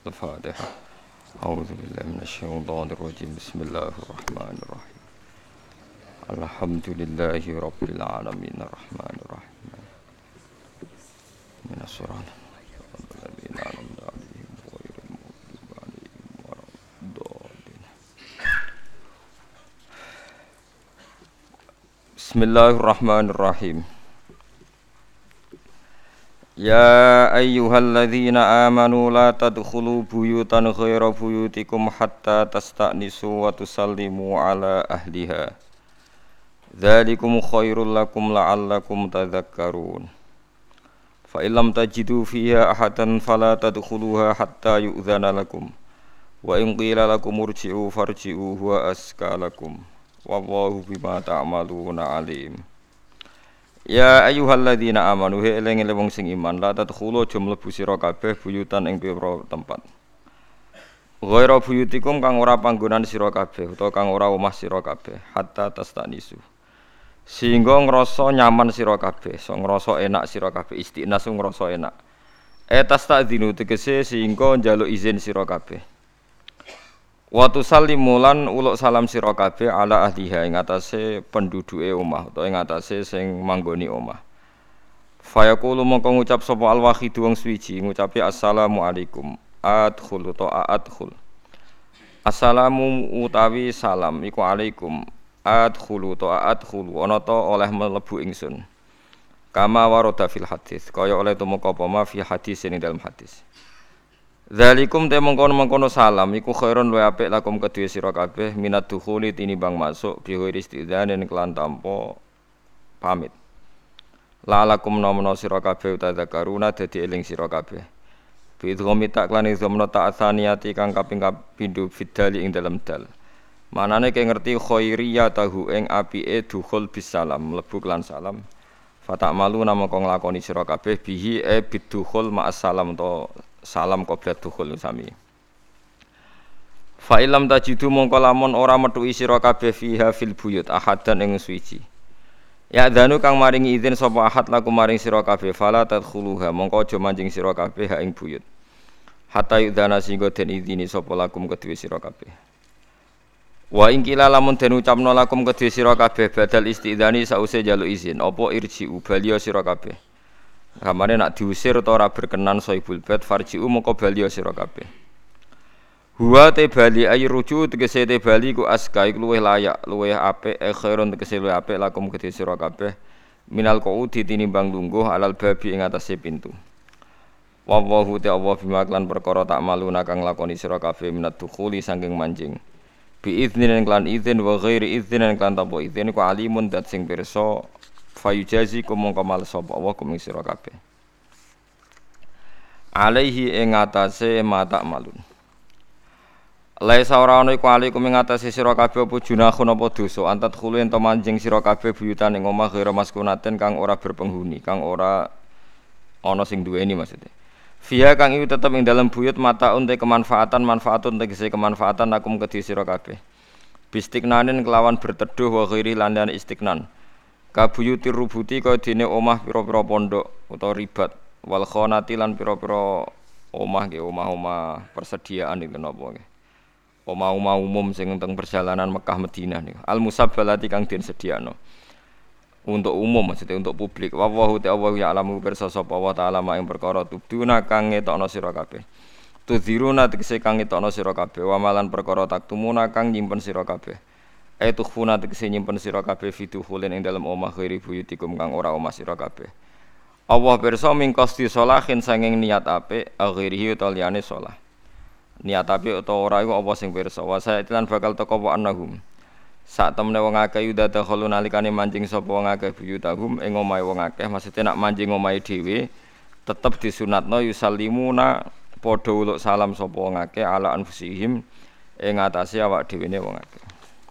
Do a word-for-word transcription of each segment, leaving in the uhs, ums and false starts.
الفاتحة. أعوذ بالله من الشيطان الرجيم. بسم الله الرحمن الرحيم. الحمد لله رب العالمين الرحمن الرحيم من الصراط الذين أنعمت عليهم غير المغضوب عليهم ولا الضالين. بسم الله الرحمن الرحيم. يا أيها الذين آمنوا لا تدخلوا بيوتا غير بيوتكم حتى تستأنسوا وتسلموا على أهلها ذلكم خير لكم لعلكم تذكرون. فإن لم تجدوا فيها أحدا فلا تدخلوها حتى يؤذن لكم وإن قيل لكم ارجعوا فارجعوا هو أزكى لكم والله بما تعملون عليم. Ya ayyuhalladzina amanu he eling-eling wong sing iman la tadkhulu aja mlebu sira kabeh buyutan ing pira tempat. Ghaira buyutikum kang ora panggonan sira kabeh utawa kang ora omah sira kabeh hatta tastanisu. Sehingga ngrasa nyaman sira kabeh, so ngrasa enak sira kabeh istiqnas ngrasa enak. E tastadzinu tegese sehingga njaluk izin sira kabeh. Wa tusallimu lan uluk salam sira kabeh ala ahliha ing atase penduduke omah utawa ing atase sing manggoni omah. Fayaqulu mongko ngucap sapa al-wahid wong suwiji ngucapi assalamu alaikum adkhul utawa adkhul. Assalamu utawi salam iku alaikum adkhul utawa adkhul ana ta oleh mlebu ingsun. Kama warada fil hadis kaya oleh tumeka apa ma fi hadis ing dalam hadis. Zalikum te mengkono-mengkono salam iku khairun luwih apik lakum kedue sira kabeh minat dukhuli tinimbang masuk bi ghairi istidzanin kelan tanpa pamit. La lakum namana sira kabeh utadzakaruna dadi eling sira kabeh. Bi idghami tak lan idghamna ta'atsaniyati kang kaping kapindho fidali ing dalem dal. Manane ke ngerti khairiyah tahu ing apike dukhul bis salam mlebu kelan salam. Fata'malu namaka nglakoni sira kabeh bihi e bidukhul ma'as salam to salam qoblat dukhul sami. Fa illam tajidu mongko lamun ora metuhi sira kabeh fiha fil buyut ahadan ing suci. Ya dzanu kang maringi izin sapa ahad laku maring sira kabeh fala tadkhuluha mongko aja manjing sira kabeh ha ing buyut. Hatta yudzana singgo den izini sapa lakum kedue sira kabeh. Wa ing kila lamun den ucapno lakum kedue sira kabeh badal istidzani sause njaluk izin apa irji'u baliya sira kabeh. Kamane nak diusir utawa ora berkenan saibul bait farji'u mongko bali sira kabeh. Huwa te bali ay ruju tegese te bali ku aska iku luwih layak, luwih apik e khairun tegese luwih apik lakum kedhe sira kabeh minal qaudi tinimbang lungguh alal babi ing atase pintu. Wallahu ta'ala bima lan perkara tak maluna kang lakoni sira kabeh minat dukhuli saking manjing. Bi idznin lan idzin wa ghairi idznin lan tanpa idzin ku alimun dat sing pirsa fayujazi kumangka mal sapa Allah kuming sira kabeh alaihi ing atase mata malun laisa ora ana iku alaikum ing atase sira kabeh apa junahun apa dosa antat khulu ento manjing sira kabeh buyutan ing omah ghira maskunaten kang ora berpenghuni kang ora ana sing duweni maksudnya fiha kang iku tetep ing dalem buyut mata unte kemanfaatan manfaatun tegese kemanfaatan akum kedhi sira kabeh bistiknanin kelawan berteduh wa ghairi lan istiknan kabuyutir rubuti kaya dene omah pira-pira pondok utawa ribat wal khonati lan pira-pira omah nggih omah-omah persediaan niku napa nggih omah-omah umum sing teng perjalanan Mekah Madinah niku al musabbalati kang den sediakno untuk umum maksudnya untuk publik wa wa ta'ala ya alamu pirsa sapa wa ta'ala mak ing perkara tubduna kang ngetokno sira kabeh tudziruna tegese kang ngetokno sira kabeh wa malan perkara taktumuna kang nyimpen sira kabeh aitu khuna tegese nyimpen sira kabeh fiduhulin ing dalem omah ghairi buyutikum kang ora omah sira kabeh. Allah pirsa mingkosti sholahin sanging niat apik ghairihi utawa liyane shalah. Niat apik utawa ora iku apa sing pirsa. Wa sa'ilan bakal teka wa annahum. Sak temene wong akeh yudada khalu nalikane mancing sapa wong akeh buyutahum ing omahe wong akeh maksude nak mancing omahe dhewe tetep disunatno yusallimuna padha uluk salam sapa wong akeh ala anfusihim ing atase awak dhewene wong akeh.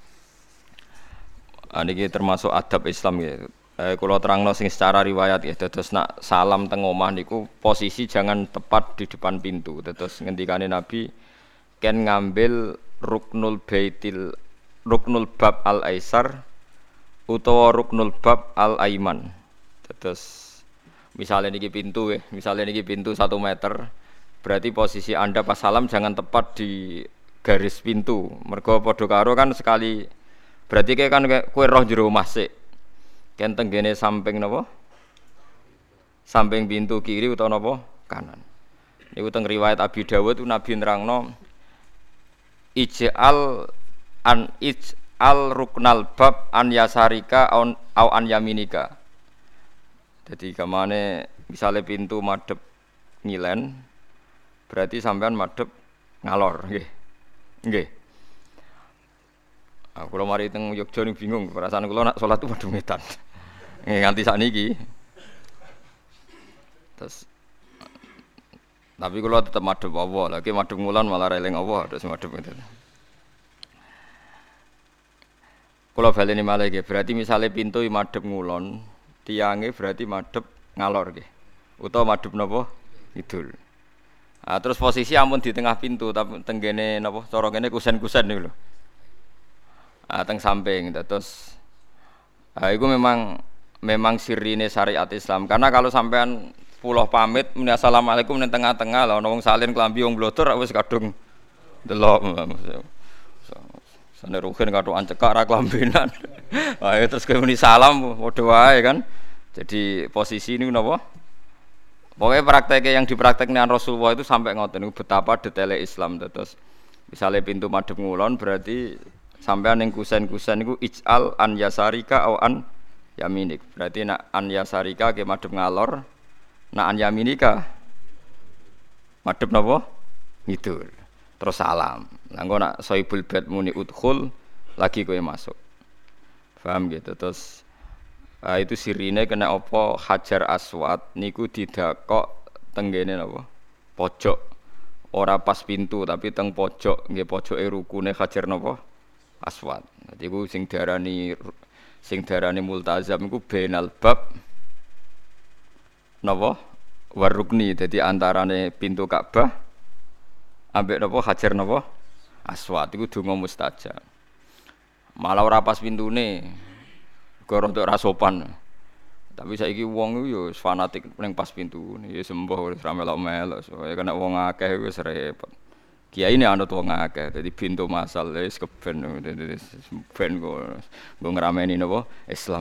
Niki termasuk adab Islam ya. Eh, kula terangno sing secara riwayat ya. Dados nak salam teng omah niku posisi jangan tepat di depan pintu. Dados ngendikane Nabi ken ngambil ruknul baitil ruknul bab al aisar utawa ruknul bab al aiman. Dados misalnya niki pintu ya, misalnya niki pintu satu meter Berarti posisi Anda pas salam jangan tepat di garis pintu. Mergo padha karo kan sekali berarti kayak kan kowe roh jero omah sik. Ken tenggene samping napa? Samping pintu kiri utawa napa? Kanan. Niku teng riwayat Abi Dawud Nabi nerangno ij'al an ij'al ruknal bab an yasarika au an yaminika. Jadi kamane misale pintu madhep ngilen berarti sampean madhep ngalor nggih. Nggih. Aku lho mari teng Yogya ning bingung perasaan kula nak salat madhep ngetan. Nggih nganti sakniki. Terus tapi kula tetep madhep Allah, lagi madhep ngulon malah eling Allah terus madhep ngeten. Kula baleni malih nggih, berarti misale pintu madhep ngulon, tiange berarti madhep ngalor nggih. Utawa madhep napa? Kidul. Ah terus posisi ampun di tengah pintu tapi tenggene napa cara kene kusen-kusen niku lho. Ah teng samping terus ah iku memang memang sirine syariat Islam karena kalau sampean pulau pamit muni assalamualaikum ning tengah-tengah lha ono wong salin klambi wong blotor wis kadung delok. Sane rugen katokan cekak ra klambenan. Ayo terus kowe muni salam padha wae kan. Jadi posisi niku napa? Pokoke prakteknya yang dipraktekkan Rasulullah itu sampai ngoten niku betapa detaile Islam terus. Misale pintu madhep ngulon berarti sampean ning kusen-kusen niku ij'al an yasarika au an yaminik. Berarti nak an yasarika ke madhep ngalor. Nak an yaminika madhep napa? Ngidul. Terus salam. Lah engko nak soibul bait muni udkhul lagi kowe masuk. Paham gitu. Terus ah, itu sirine kena apa Hajar Aswad niku didakok tenggene napa? Pojok. Ora pas pintu tapi teng pojok, nggih pojoke rukune Hajar napa? Aswad. Dadi iku sing diarani sing diarani multazam iku bainal bab napa warukni dadi antarane pintu Ka'bah ambek napa Hajar napa Aswad iku donga mustajab. Malah ora pas pintune goro untuk rasopan. Tapi saiki wong iku yo fanatik ning pas pintu. Ya sembuh wis ra melok-melok. Soale kena wong akeh wis repot. Kiai ini anut wong akeh. Dadi pintu masal wis keben dadi ben go ngrameni napa Islam.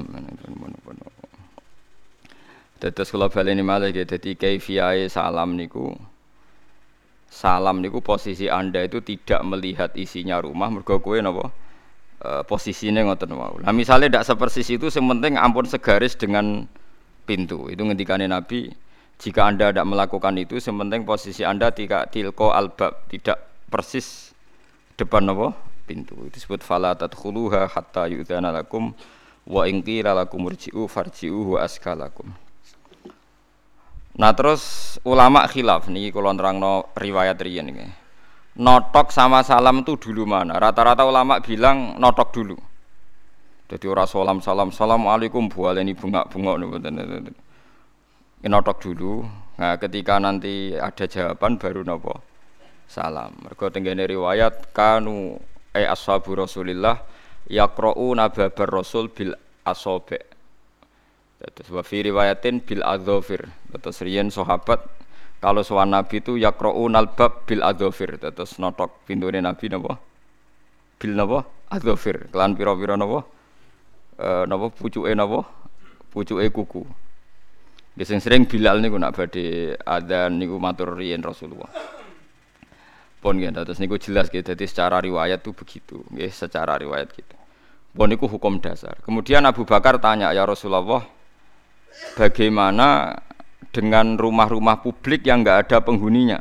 Tetes kula baleni malih nggih dadi kaifiyahe salam niku salam niku posisi Anda itu tidak melihat isinya rumah mergo kowe napa e, posisine ngoten wau. Lah misale ndak sepersis itu sing penting ampun segaris dengan pintu. Itu ngendikane Nabi, jika Anda tidak melakukan itu sing penting posisi Anda tidak tilqa albab, tidak persis depan napa pintu. Itu disebut fala tadkhuluha hatta yu'dzana lakum wa in qila lakum irji'u farji'u wa askalakum. Nah terus ulama khilaf niki kula nerangno riwayat riyen iki. Notok sama salam itu dulu mana? Rata-rata ulama bilang notok dulu. Jadi ora salam salam assalamualaikum bualeni bunga-bunga niku. Notok dulu. Nah ketika nanti ada jawaban baru napa? Salam. Mergo tenggene riwayat kanu ai ashabu Rasulillah yaqra'una babar rasul bil asabi'. Terus wa fi riwayatin bil adzafir. Terus riyen sahabat kalau sowan Nabi itu yaqra'unal bab bil adzafir. Terus notok pintune Nabi napa? Bil napa? Adzafir. Kelan pira-pira napa? Eh napa pucuke napa? Pucuke kuku. Nggih sing sering Bilal niku nak badhe adzan niku matur riyen Rasulullah. Pun nggih terus niku jelas nggih dadi secara riwayat itu begitu. Nggih secara riwayat gitu. Pun niku hukum dasar. Kemudian Abu Bakar tanya, "Ya Rasulullah, bagaimana dengan rumah-rumah publik yang enggak ada penghuninya?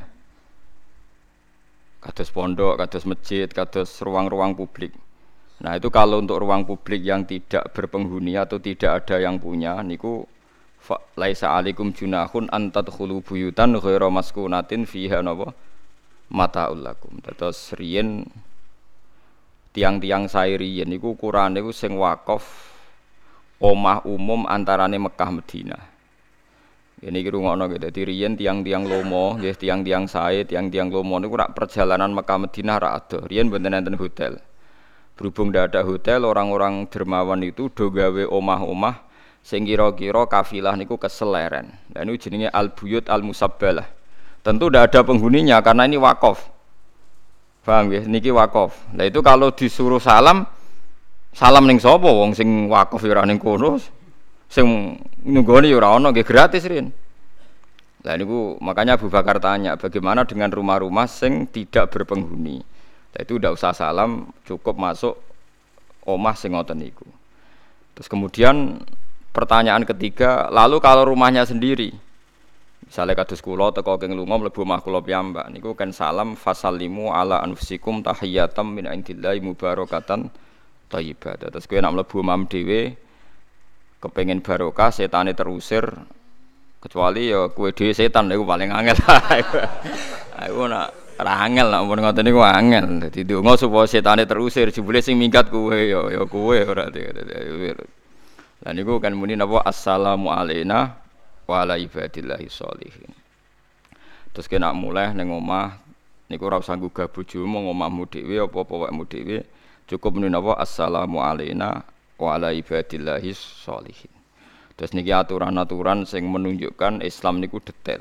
Kados pondok, kados masjid, kados ruang-ruang publik. Nah, itu kalau untuk ruang publik yang tidak berpenghuni atau tidak ada yang punya niku laisa alaikum junahun an tadkhulu buyutan ghaira maskunatin fiha napa mataul lakum. Terus riyen tiang-tiang sae riyen niku ukurane niku sing wakaf omah umum antarane Mekah Madinah. Ini iki rungokno gitu. Dadi riyen tiang-tiang lomo, nggih tiang-tiang sae, tiang-tiang lomo niku rak perjalanan Mekah Madinah ra ado. Riyen mboten enten hotel. Berhubung ndak ada hotel, orang-orang dermawan itu do gawe omah-omah sing kira-kira kafilah niku keseleren. Lah niku jenenge al-buyut al-musabbalah. Tentu tidak ada penghuninya karena ini wakaf. Paham ya? Niki wakaf. Nah itu kalau disuruh salam, salam ning sapa wong sing wakaf ya ora ning kono. Sing nunggone ya ora ono nggih gratis rin. Lah niku makanya Abu Bakar tanya, bagaimana dengan rumah-rumah sing tidak berpenghuni? Nah itu tidak usah salam, cukup masuk omah sing ngoten niku. Terus kemudian pertanyaan ketiga, lalu kalau rumahnya sendiri, misalnya kados kula teko keng lunga mlebu omah kula piyambak niku kan salam fasallimu ala anfusikum tahiyatam min indillahi mubarakatan thayyibah. Terus kowe nek mlebu omah dhewe kepengin barokah setane terusir kecuali ya kowe dhewe setan niku paling angel. Aku nak ora angel nek mun ngoten niku angel. Dadi ndonga supaya setane terusir jebule sing minggat kowe ya ya kowe ora. Lah niku kan muni napa assalamu alaina wa ala ibadillahi sholihin. Terus kena mulai ning omah niku ora usah nggugah bojomu ngomahmu dhewe apa-apa wekmu dhewe, cukup muni napa assalamu alaina wa ala ibadillahi sholihin. Terus niki aturan-aturan sing menunjukkan Islam niku detail.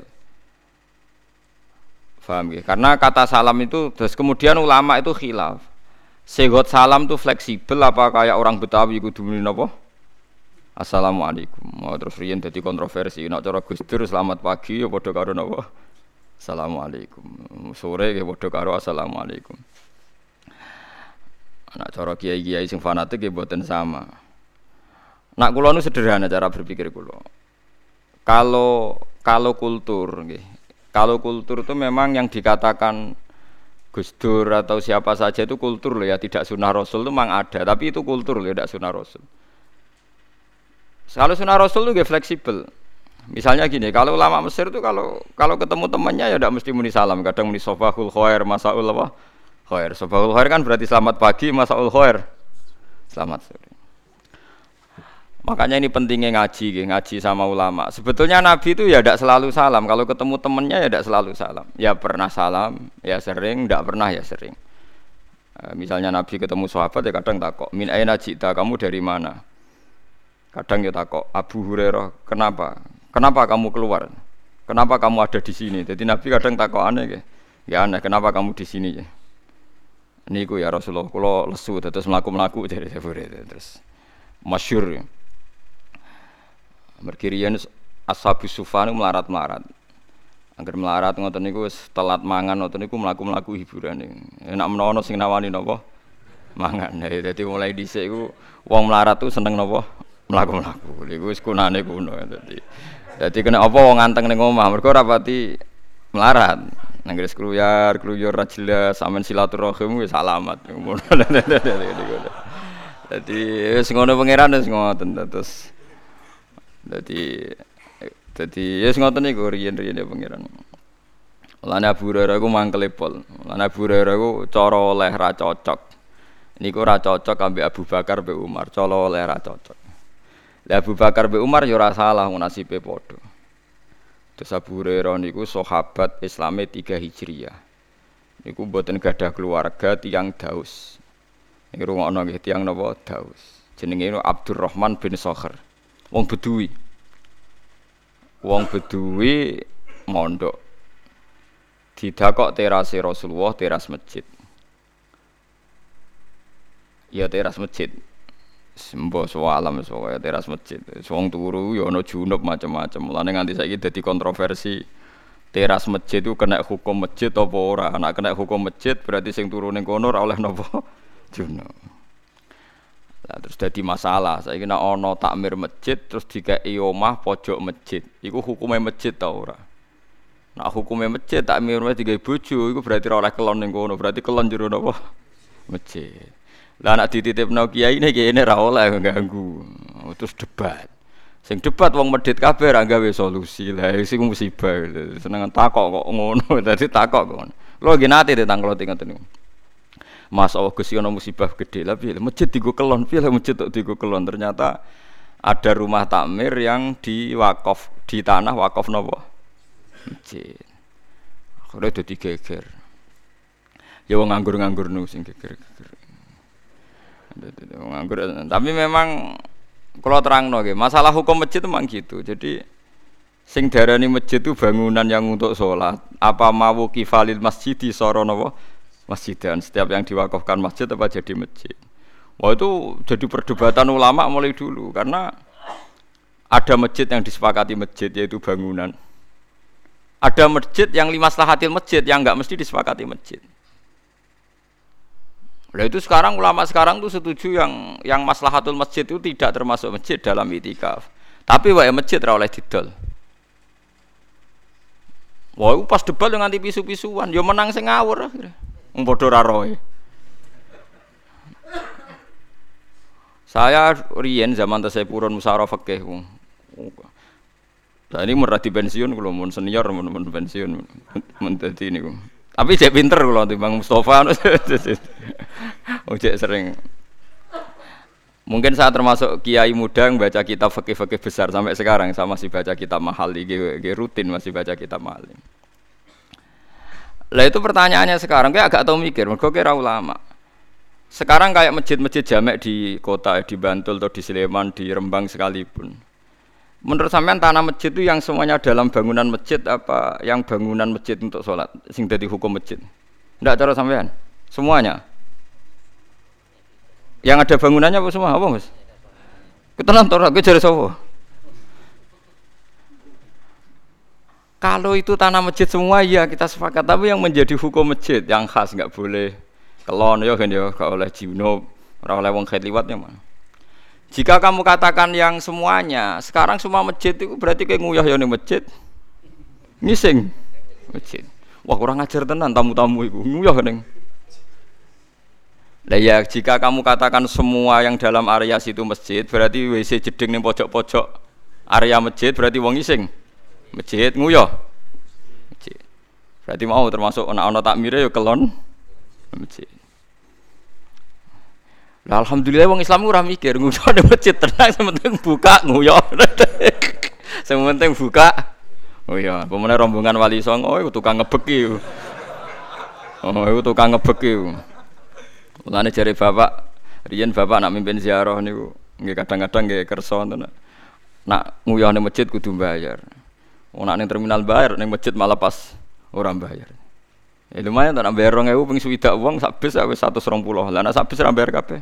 Paham ya? Karena kata salam itu terus kemudian ulama itu khilaf. Segot salam itu fleksibel apa kayak orang Betawi kudu muni napa? Assalamualaikum. Oh, terus riyen dadi kontroversi. Nek cara Gus Dur selamat pagi ya padha karo napa? Assalamualaikum. Sore ya padha karo assalamualaikum. Nek cara kiai-kiai sing fanatik ya mboten sama. Nak kula nu sederhana cara berpikir kula. Kalau kalau kultur nggih. Kalau kultur itu memang yang dikatakan Gus Dur atau siapa saja itu kultur loh ya, tidak sunnah Rasul itu memang ada, tapi itu kultur loh ya, tidak sunnah Rasul. Kalau sunnah Rasul itu fleksibel. Misalnya gini, kalau ulama Mesir itu kalau kalau ketemu temannya ya tidak mesti muni salam, kadang muni sabahul khair, masaul apa? Khair. Sabahul khair kan berarti selamat pagi, masaul khair. Selamat sore. Makanya ini pentingnya ngaji, ngaji sama ulama. Sebetulnya Nabi itu ya tidak selalu salam. Kalau ketemu temannya ya tidak selalu salam. Ya pernah salam, ya sering, tidak pernah ya sering. Misalnya Nabi ketemu sahabat ya kadang takok, min aina jita, kamu dari mana? Kadang ya takok, Abu Hurairah, kenapa? Kenapa kamu keluar? Kenapa kamu ada di sini? Jadi Nabi kadang takok aneh ya. Ya aneh, kenapa kamu di sini ya? Niku ya Rasulullah, kalau lesu terus melaku-melaku dari Abu Hurairah terus masyhur ya. Merkirian Ashabus Sufan melarat-melarat. Angger melarat ngoten niku wis telat mangan ngoten niku mlaku-mlaku hiburan. Enak menawa sing nawani napa? Mangan. Dadi mulai dhisik iku wong melarat tuh seneng napa? Mlaku-mlaku. Niku wis kunane kuno dadi. Dadi kena apa wong anteng ning omah mergo ora pati melarat. Nang gres kruyar, kruyur ra jelas, sampean silaturahim wis alamat. Dadi wis ngono pangeran wis ngoten terus. Dadi dadi wis ngoten niku riyen-riyen pangeran. Lan Abu Hurairah iku mangkele pol. Lan Abu Hurairah iku cara oleh ra cocok. Niku ora cocok ambek Abu Bakar mbek Umar, cara oleh ra cocok. Lah Abu Bakar mbek Umar ya ora salah nasibe padha. Terus Abu Hurairah niku sahabat Islame tiga Hijriah. Niku mboten gadah keluarga tiyang Daus. Niku rungokno nggih tiyang napa Daus. Jenenge Abdurrahman bin Sakhr. Wong Bedui. Wong Bedui mondok. Didakok terase Rasulullah, teras masjid. Ya teras masjid. Sembo alam soalnya teras masjid. Wong turu ya ana junub macam-macam. Mulane nganti saiki dadi kontroversi. Teras masjid itu kena hukum masjid apa ora? Nek kena hukum masjid berarti sing turu ning kono ora oleh napa? Junub. Nah, terus dadi masalah. Saiki nek ana takmir masjid terus dikeki omah pojok masjid. Iku hukume masjid ta ora? Nek hukume masjid takmir wis digawe bojo iku berarti ora oleh kelon ning kono, berarti kelon jero napa? Masjid. Lah nek dititipno kiai ne kene ora oleh ganggu. Terus debat. Sing debat wong medhit kabeh ra gawe solusi. Lah sing musibah. Seneng takok kok ngono. Dadi takok kok. Lho nggih nate tentang kula ngoten niku. Mas Allah Gusti ana musibah gede lah piye masjid digo kelon piye masjid tok digo kelon ternyata ada rumah takmir yang di wakaf di tanah wakaf napa masjid akhirnya dadi geger ya wong nganggur-nganggur nu sing geger-geger nganggur tapi memang kalau terangno nggih masalah hukum masjid memang gitu jadi Sing darani masjid itu bangunan yang untuk sholat. Apa mau kifalil masjid di soronowo masjid dan setiap yang diwakafkan masjid apa jadi masjid. Wah itu jadi perdebatan ulama mulai dulu karena ada masjid yang disepakati masjid yaitu bangunan. Ada masjid yang limaslahatil masjid yang enggak mesti disepakati masjid. Nah itu sekarang ulama sekarang tuh setuju yang yang maslahatul masjid itu tidak termasuk masjid dalam itikaf. Tapi wae masjid ora oleh didol. Wah, pas debat dengan anti pisu-pisuan, yo menang sing ngawur akhire. Wong padha ora roe. Saya riyen zaman tesih purun musyawarah fikih. Nah ini mun di pensiun kula mun senior mun, mun pensiun mun dadi niku. Tapi jek pinter kula timbang Mustofa. Oh jek sering. Mungkin saya termasuk kiai muda yang baca kitab fikih-fikih besar sampai sekarang saya masih baca kitab Mahali, rutin masih baca kitab Mahali. Lah itu pertanyaannya sekarang kayak agak tahu mikir, mergo kira ulama. Sekarang kayak masjid-masjid jamek di kota di Bantul atau di Sleman, di Rembang sekalipun. Menurut sampean tanah masjid itu yang semuanya dalam bangunan masjid apa yang bangunan masjid untuk sholat, sing dadi hukum masjid? Ndak cara sampean? Semuanya. Yang ada bangunannya apa semua? Apa Mas? Ketenan tora, gue jare sapa? Kalau itu tanah masjid semua ya kita sepakat, tapi yang menjadi hukum masjid yang khas enggak boleh kelon ya kan ya, enggak oleh junub, ora oleh wong kait liwat ya mana. Jika kamu katakan yang semuanya, sekarang semua masjid itu berarti kayak nguyah ya ning masjid. Ngising masjid. Wah kurang ajar tenan tamu-tamu iku. Nguyah ning. Lah ya jika kamu katakan semua yang dalam area situ masjid, berarti W C jeding ning pojok-pojok area masjid berarti wong ngising. Masjid nguyah. Masjid. Berarti mau termasuk ana-ana takmire ya kelon masjid. Lah alhamdulillah wong Islam ora mikir nguyah ning masjid tenang sementing buka nguyah. Sementing buka. Oh iya, pemene rombongan Wali Songo iku tukang ngebek iki. Oh, iku tukang ngebek iki. Mulane jare bapak, riyen bapak nak mimpin ziarah niku nggih kadang-kadang nggih kersa ngoten. Nak nguyah ning masjid kudu bayar. Wong nak ning terminal bayar, ning masjid malah pas ora bayar. Ya lumayan tak bayar dua ribu ping swidak wong sak bis wis seratus dua puluh. Lah nak sak bis ora bayar kabeh.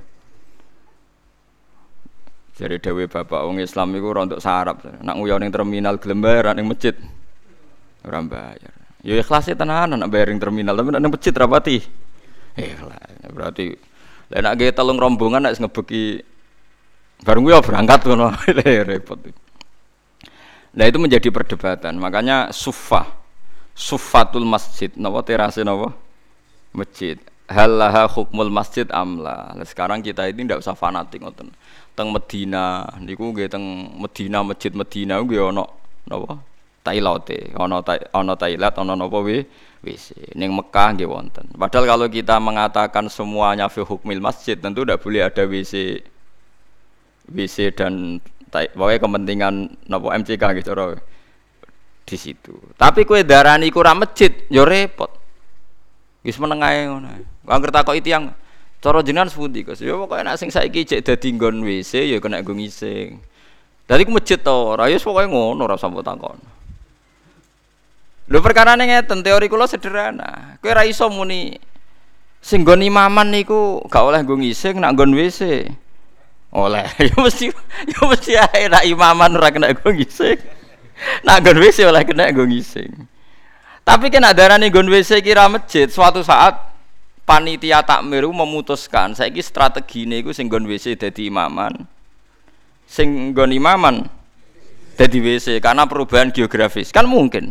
Jare dhewe bapak wong Islam iku ora entuk sarap. Nak nguyah ning terminal gelem bayar ning masjid ora bayar. Ya ikhlas tenanan nak bayar ning terminal tapi ning masjid ra pati. Eh berarti lha nek ge telung rombongan nek ngebeki bareng kuwi berangkat ngono repot. Nah itu menjadi perdebatan. Makanya suffah suffatul masjid napa terase napa masjid. Halaha hukmul masjid amla. Nah, sekarang kita ini ndak usah fanatik ngoten. Teng Medina niku nggih teng Medina masjid Medina nggih ana napa Tailote, ana ana Tailat ana napa we W C. Ning Mekah nggih wonten. Padahal kalau kita mengatakan semuanya fi hukmil masjid tentu tidak boleh ada W C W C dan pokoknya kepentingan napa M C K gitu cara di situ. Tapi kowe darani iku ora masjid ya repot. Wis meneng ae ngono. Angger takoki tiyang cara jenengan sepundi Gus? Ya pokoke nek sing saiki jek dadi nggon W C ya kena nggo ngising. Dadi ku masjid to ora ya pokoke ngono ora sampe takon. Lho perkarane ngeten, teori kula sederhana. Kowe ora iso muni sing nggon imaman niku gak oleh nggo ngising nak nggon W C. Oleh. Ya mesti ya mesti ae nak imaman ora kena nggo ngising. Nak nggon W C oleh kena nggo ngising. Tapi kena darane nggon W C kira masjid, suatu saat panitia takmir memutuskan saiki strategine iku sing nggon W C dadi imaman. Sing nggon imaman dadi W C karena perubahan geografis. Kan mungkin.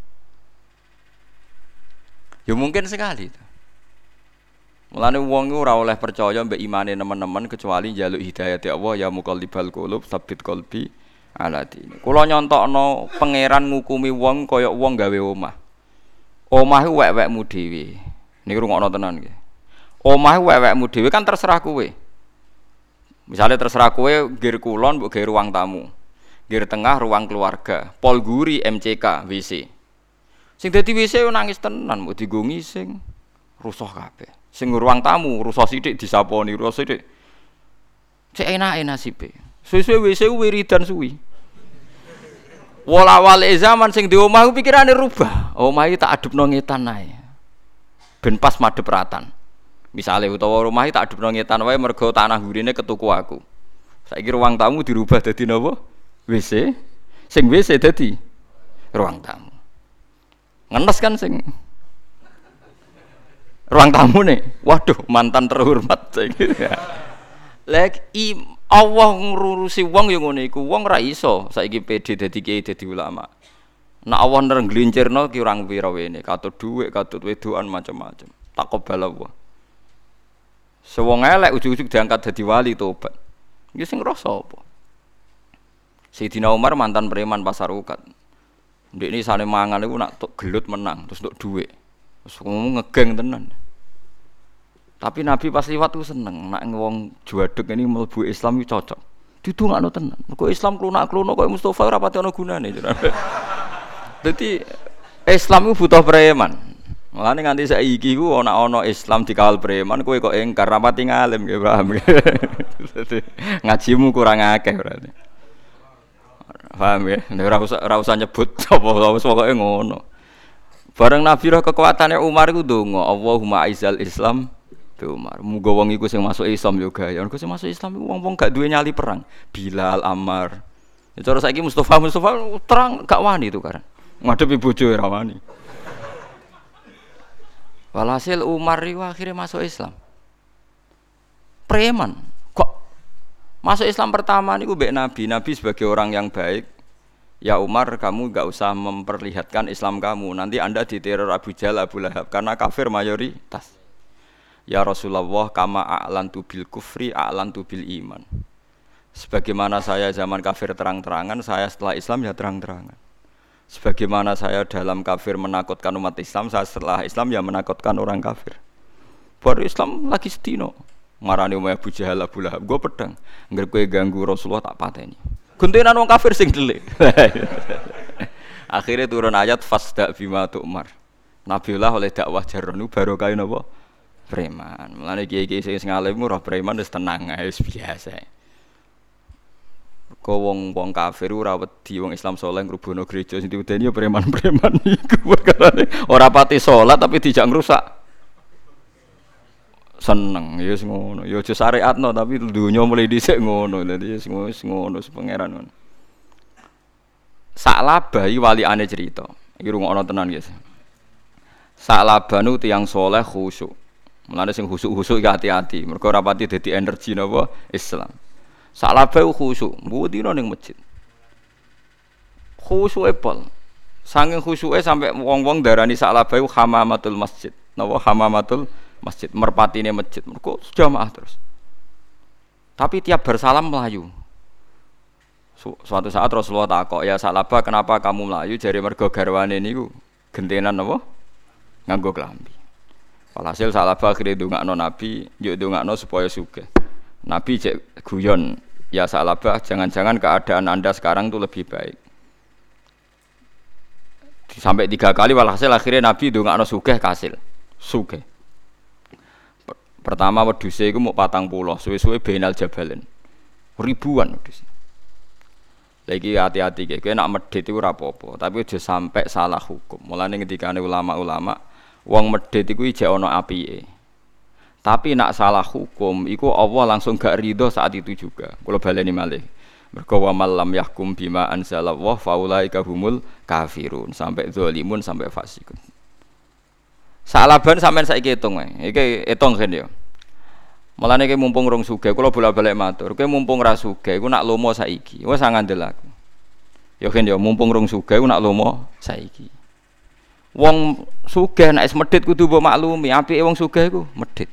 Ya mungkin sekali itu. Mulane wong ora oleh percaya mbek imane teman-teman kecuali njaluk hidayah Allah ya muqallibal qulub tsabbit qalbi ala dini. Kula nyontokno pangeran ngukumi wong kaya wong gawe omah. Omah iku wek-wekmu dhewe. Niki rungokno tenan nggih. Omah iku wek-wekmu dhewe kan terserah kowe. Misale terserah kowe ngger kulon mbok gawe ruang tamu. Ngger tengah ruang keluarga, pol guri M C K W C. Sing dadi W C yo nangis tenan, mbok digo ngising, rusuh kabeh. Sing ruang tamu rusuh sithik disaponi, rusuh sithik. Cek enake nasibe. Suwe-suwe W C wiridan suwi. Wala-wale zaman sing di omah ku pikirane rubah. Omah iki tak adepno ngetan ae. Ben pas madhep ratan. Misale utawa rumah iki tak adepno ngetan wae mergo tanah gurine ketuku aku. Saiki ruang tamu dirubah dadi napa? W C. Sing W C dadi ruang tamu. Ngenes kan sing ruang tamu nih. Waduh, mantan terhormat saiki. Lek i Allah ngurusi wong yo ngene iku, wong ra iso saiki pede dadi kiai dadi ulama. Nek Allah nrenglincirno ki urang pira wene, katut dhuwit, katut wedokan macam-macam. Takobal Allah. Sewong elek ujug-ujug diangkat dadi wali tobat. Iki sing ngrasa apa? Sayyidina Umar mantan preman pasar ukat. Ndekne sane mangan iku nak tok gelut menang, terus tok dhuwit. Terus ngomong ngegeng tenan. Tapi Nabi pas liwat ku seneng, nak wong juwadeg ini mlebu Islam iki cocok. Didongakno tenan. Mergo Islam klunak-kluno koyo Mustofa ora pati ana gunane. Dadi Islam iku butuh preman. Mulane nganti saiki ku ana ana Islam dikawal preman kowe kok engkar rapati ngalim nggih paham. Dadi ngajimu kurang akeh berarti. Paham ya? Nek ora usah ora usah nyebut apa wis pokoke ngono. Bareng Nabi roh kekuatane Umar iku ndonga, Allahumma aizal Islam Umar, muga wong iku sing masuk Islam yo gaya. Mergo sing masuk Islam iku wong-wong gak duwe nyali perang. Bilal, Ammar. Ya cara saiki Mustofa Mustofa terang gak wani itu kan. Ngadepi bojo ora wani. Walhasil Umar iku akhirnya masuk Islam. Preman. Kok masuk Islam pertama niku mbek Nabi. Nabi sebagai orang yang baik. Ya Umar, kamu gak usah memperlihatkan Islam kamu. Nanti Anda diteror Abu Jahal, Abu Lahab karena kafir mayoritas. Ya Rasulullah, kama a'lantu bil kufri a'lantu bil iman. Sebagaimana saya zaman kafir terang-terangan, saya setelah Islam ya terang-terangan. Sebagaimana saya dalam kafir menakutkan umat Islam, saya setelah Islam ya menakutkan orang kafir. Baru Islam lagi setino. Marani umay Abu Jahal, Abu Lahab, gue pedang. Ngger kowe ganggu Rasulullah tak pateni. Guntenan wong kafir sing delik. Akhirnya turun ayat fasda bima tu'mar. Nabiullah oleh dakwah jaronu barokah napa? Preman. Mulane kiai-kiai sing ngalim ora preman wis tenang ae wis biasa. Kok wong-wong kafir ora wedi wong Islam saleh ngrubono gereja sing diudeni ya preman-preman iku perkarane ora pati salat tapi dijak ngrusak. Seneng ya wis ngono. Ya aja syariatno tapi dunya mulai dhisik ngono. Dadi wis ngono wis pangeran ngono. Sa'labah iki walikane cerita. Iki rungokno tenan guys. Sa'labah nu tiyang saleh khusyuk. Mulane sing khusuk-khusuk iki hati-hati, mergo ora pati dadi energi napa Islam. Salabah khusuk, mbudino ning masjid. Khusuke pol. Saking khusuke sampai wong-wong darani salabah hamamatul masjid. Napa hamamatul masjid, merpatine masjid. Mergo jamaah terus. Tapi tiap bersalam melayu. Su- suatu saat Rasulullah takok, "Ya salabah, kenapa kamu melayu?" Jare mergo garwane niku gentenan napa? Nganggo klambi. Walhasil salabah akhirnya ndongakno Nabi, yo ndongakno supaya sugih. Nabi cek guyon, "Ya salabah, jangan-jangan keadaan Anda sekarang itu lebih baik." Sampai tiga kali walhasil akhirnya Nabi ndongakno sugih kasil. Sugih. Pertama wedhuse iku mau patang puluh, suwe-suwe benal jabalen. Ribuan wedhus. Lagi hati-hati kowe nek medhit iku ora apa-apa, tapi aja sampai salah hukum. Mulane ngendikane ulama-ulama wong medhit iku ijek ana apike. Tapi nak salah hukum iku Allah langsung gak ridho saat itu juga. Kula baleni malih. Mergo wa malam yahkum bima anzalallah faulaika humul kafirun sampai zalimun sampai fasikun. Salaban sampean saiki hitung wae. Iki hitung kan ya. Mulane iki mumpung rong sugih kula bolak-balik matur. Kowe mumpung ra sugih iku nak lomo saiki. Wis ngandel aku. Ya kan ya mumpung rong sugih iku nak lomo saiki. Wong sugih nek wis medhit kudu mbok maklumi, apike wong sugih iku medhit.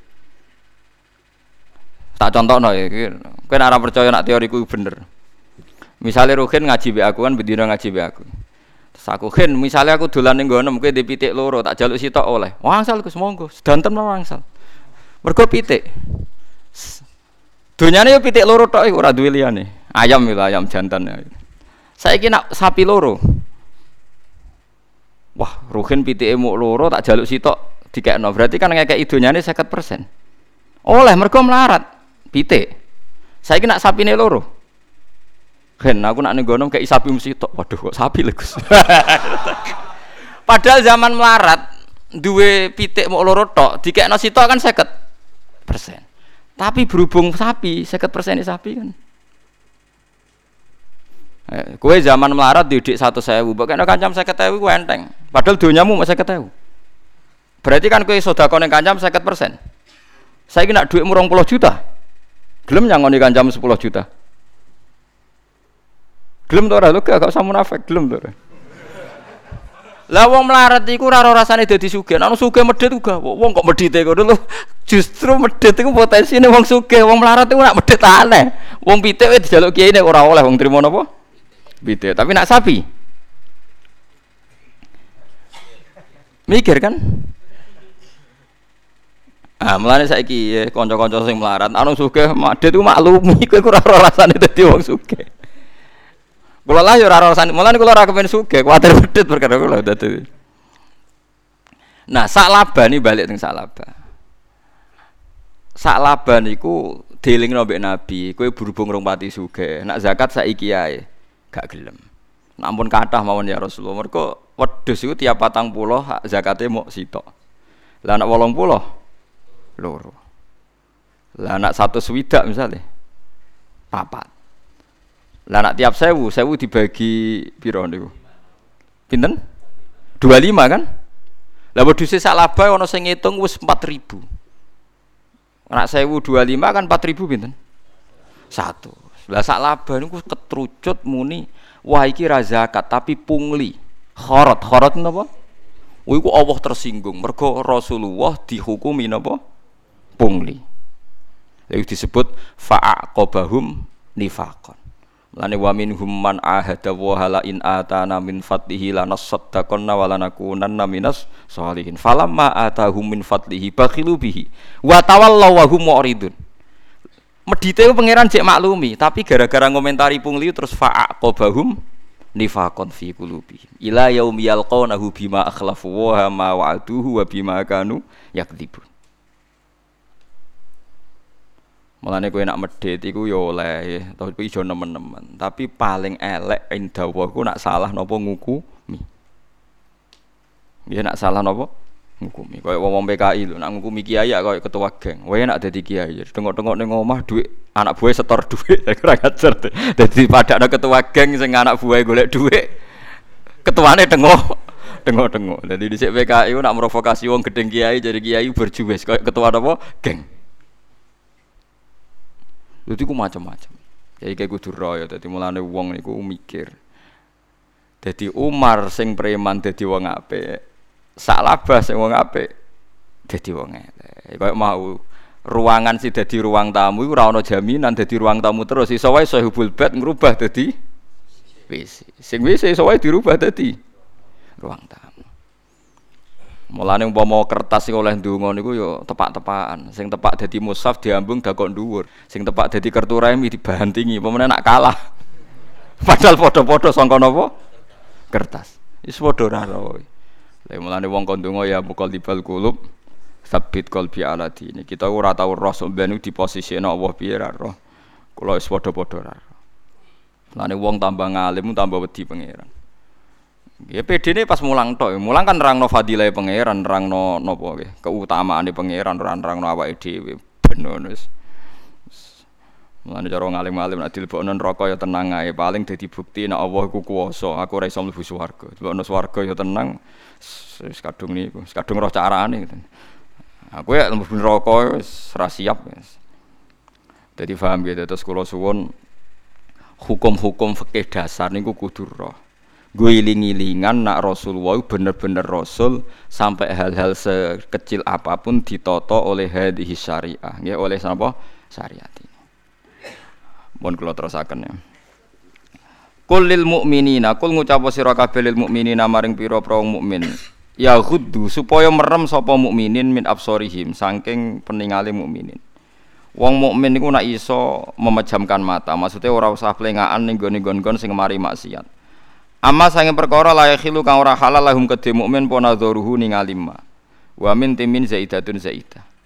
Tak contohno iki, kowe nek ora percaya nek teoriku bener. Misale Ruhin ngaji mbek aku kan bendina ngaji mbek aku. Terus aku Hin, misale aku dolan ning nggono kowe di pitik loro, tak jaluk sitok oleh. Wangsal Gus monggo, sedanten wangsal. Mergo pitik. Donyane yo pitik loro tok iku ora duwe liyane. Ayam lho ayam jantan. Saiki nak sapi loro. Wah, Ruhin pitike muk loro tak jaluk sitok dikekno. Berarti kan ngekeki donyane lima puluh persen. Oleh mergo melarat pitik. Saiki nak sapine loro. Gen aku nak ning gono kei sapi mesti tok. Waduh kok sapi lho Gus. Padahal zaman melarat duwe pitik mok loro tok, dikekno sitok kan seket persen. Tapi berhubung sapi, seket persen sapi kan. Eh, kowe zaman melarat didik seratus ribu, bakane kancam seket ribu ku enteng. Padahal donyamu mek seket ribu. Berarti kan kowe sedekah ning kancam seket persen. Saiki nak dhuwitmu rong puluh juta. Gelem nyangoni kancam sepuluh juta. Gelem to ora lho gak usah munafik, gelem to ora. Lah wong melarat iku ora rasane dadi sugih. Nek sugih medhit uga wong kok medhite ngono lho. Justru medhit iku potensine wong sugih, wong melarat iku nak medhit aneh. Wong pitik wis dijaluk kiai nek ora oleh wong trimo napa? Pitik. Tapi nak sapi. Mikir kan? Ah, mulane saiki ya kanca-kanca sing melarat, anu sugih medhit iku maklumi kowe ora rasane dadi wong sugih. Kula lah ya ora rasane, mulane kula ora kepen sugih, kuwatir medhit perkara kula dadi. Nah, sak laba ni balik teng sak laba. Sak laba niku dielingno mbek Nabi, kowe berhubung rong pati sugih, nak zakat saiki ae gak gelem. Namun kathah mawon ya Rasulullah, mergo wedhus iku tiap patang puluh zakate mok sitok. Lah nak wolong puluh loro. Lah nak satu swidak misale papat. Lah nak tiap sewu, sewu dibagi piro niku? Pinten? dua puluh lima kan? Lah wedhuse sak laba ana sing ngitung wis empat ribu. Nak sewu dua puluh lima kan empat ribu pinten? Satu. Lah sak laba niku ketrucut muni, wah iki ra zakat tapi pungli. Kharat, kharat napa? Oh iku Allah tersinggung mergo Rasulullah dihukumi napa? Pungli. Lha disebut fa'aqabahum nifaqan. Lane wa minhum man ahada wa hala in atana min fadlihi lanasaddaqanna wa lanakunanna minas sholihin falamma atahum min fadlihi bakhilu bihi wa tawallaw wa hum mu'ridun. Medite pangeran jek maklumi tapi gara-gara ngomentari pungli terus fa'aqabahum nifaqan fi qulubihim ila yaumi yalqawnahu bima akhlafu wa ma wa'aduhu wa bima kanu yakdzibun. Mulane kowe nak medhit iku ya oleh, tapi ijo nemen-nemen. Tapi paling elek indawa ku nak salah napa ngukumi. Nggih nak salah napa ngukumi. Kaya wong-wong P K I lho, nak ngukumi kiai kaya ketua geng. Wae nak dadi kiai, tengok-tengok ning omah dhuwit anak buah setor dhuwit, ora ngajar. Dadi padakno ketua geng sing anak buah golek dhuwit. Ketuane tengok tengok-tengok. Dadi dhisik P K I nak provokasi wong gedeng kiai jadi kiai berjuwes kaya ketua napa geng. Lha iku macam-macam. Jadi kayak kudu royo, dadi mulane wong niku mikir. Dadi Umar sing preman dadi wong apik, sak labah sing wong apik dadi wong elek. Kayak mau ruangan sih dadi ruang tamu iku ora ana jaminan dadi ruang tamu terus. Iso wae sahibul bait ngrubah dadi W C. Sing W C iso wae dirubah dadi ruang tamu. Mulane umpama kertas sing oleh ndonga niku ya tepak-tepakan. Sing tepak dadi mushaf diambung dakok dhuwur. Sing tepak dadi kertu remi dibantingi. Pemene nak kalah. Padahal padha-padha sangka napa? Kertas. Wis padha ora roe. Lah mulane wong kon ndonga ya muqallibal qulub sabit qalbi ala dini. Kita ora tau roh sampeyan di posisikno Allah piye ra roh. Kula wis padha-padha ra roh. Mulane wong tambah ngalim tambah wedi pangeran. Ya P D-ne pas mulang tok, mulang kan nerangno fadilah pangeran, nerangno napa nggih, keutamaane pangeran, nerangno awake dhewe ben wis. Mulane cara ngalim-alim nek dilebokno neraka ya tenang ae, paling dadi bukti nek Allah iku kuwasa, aku ora iso mlebu swarga. Dilebokno swarga ya tenang, wis kadung niku, wis kadung roh carane gitu. Aku ya mlebu neraka wis ora siap wis. Dadi paham gitu terus kula suwun hukum-hukum fikih dasar niku kudu roh. Gue iling-ilingan nak Rasulullah bener-bener Rasul sampai hal-hal sekecil apapun ditoto oleh hadhihi syariah, ya oleh apa syariat ini. Mohon kula terusaken ya. Qul lil mukminina, qul ngucap sira kabeh lil mukminina maring pira-pira mukmin. Ya ghuddu supaya merem sapa mukminin min absorihim saking peningale mukminin. Wong mukmin niku nak iso memejamkan mata, maksudnya ora usah plengaan ning gone-gone sing mari maksiat. Amma sange perkara layak khilu kang ora halal lahum kedhe mukmin pona dzuruhu ningali ma. Wa min timin zaidatun zaidah.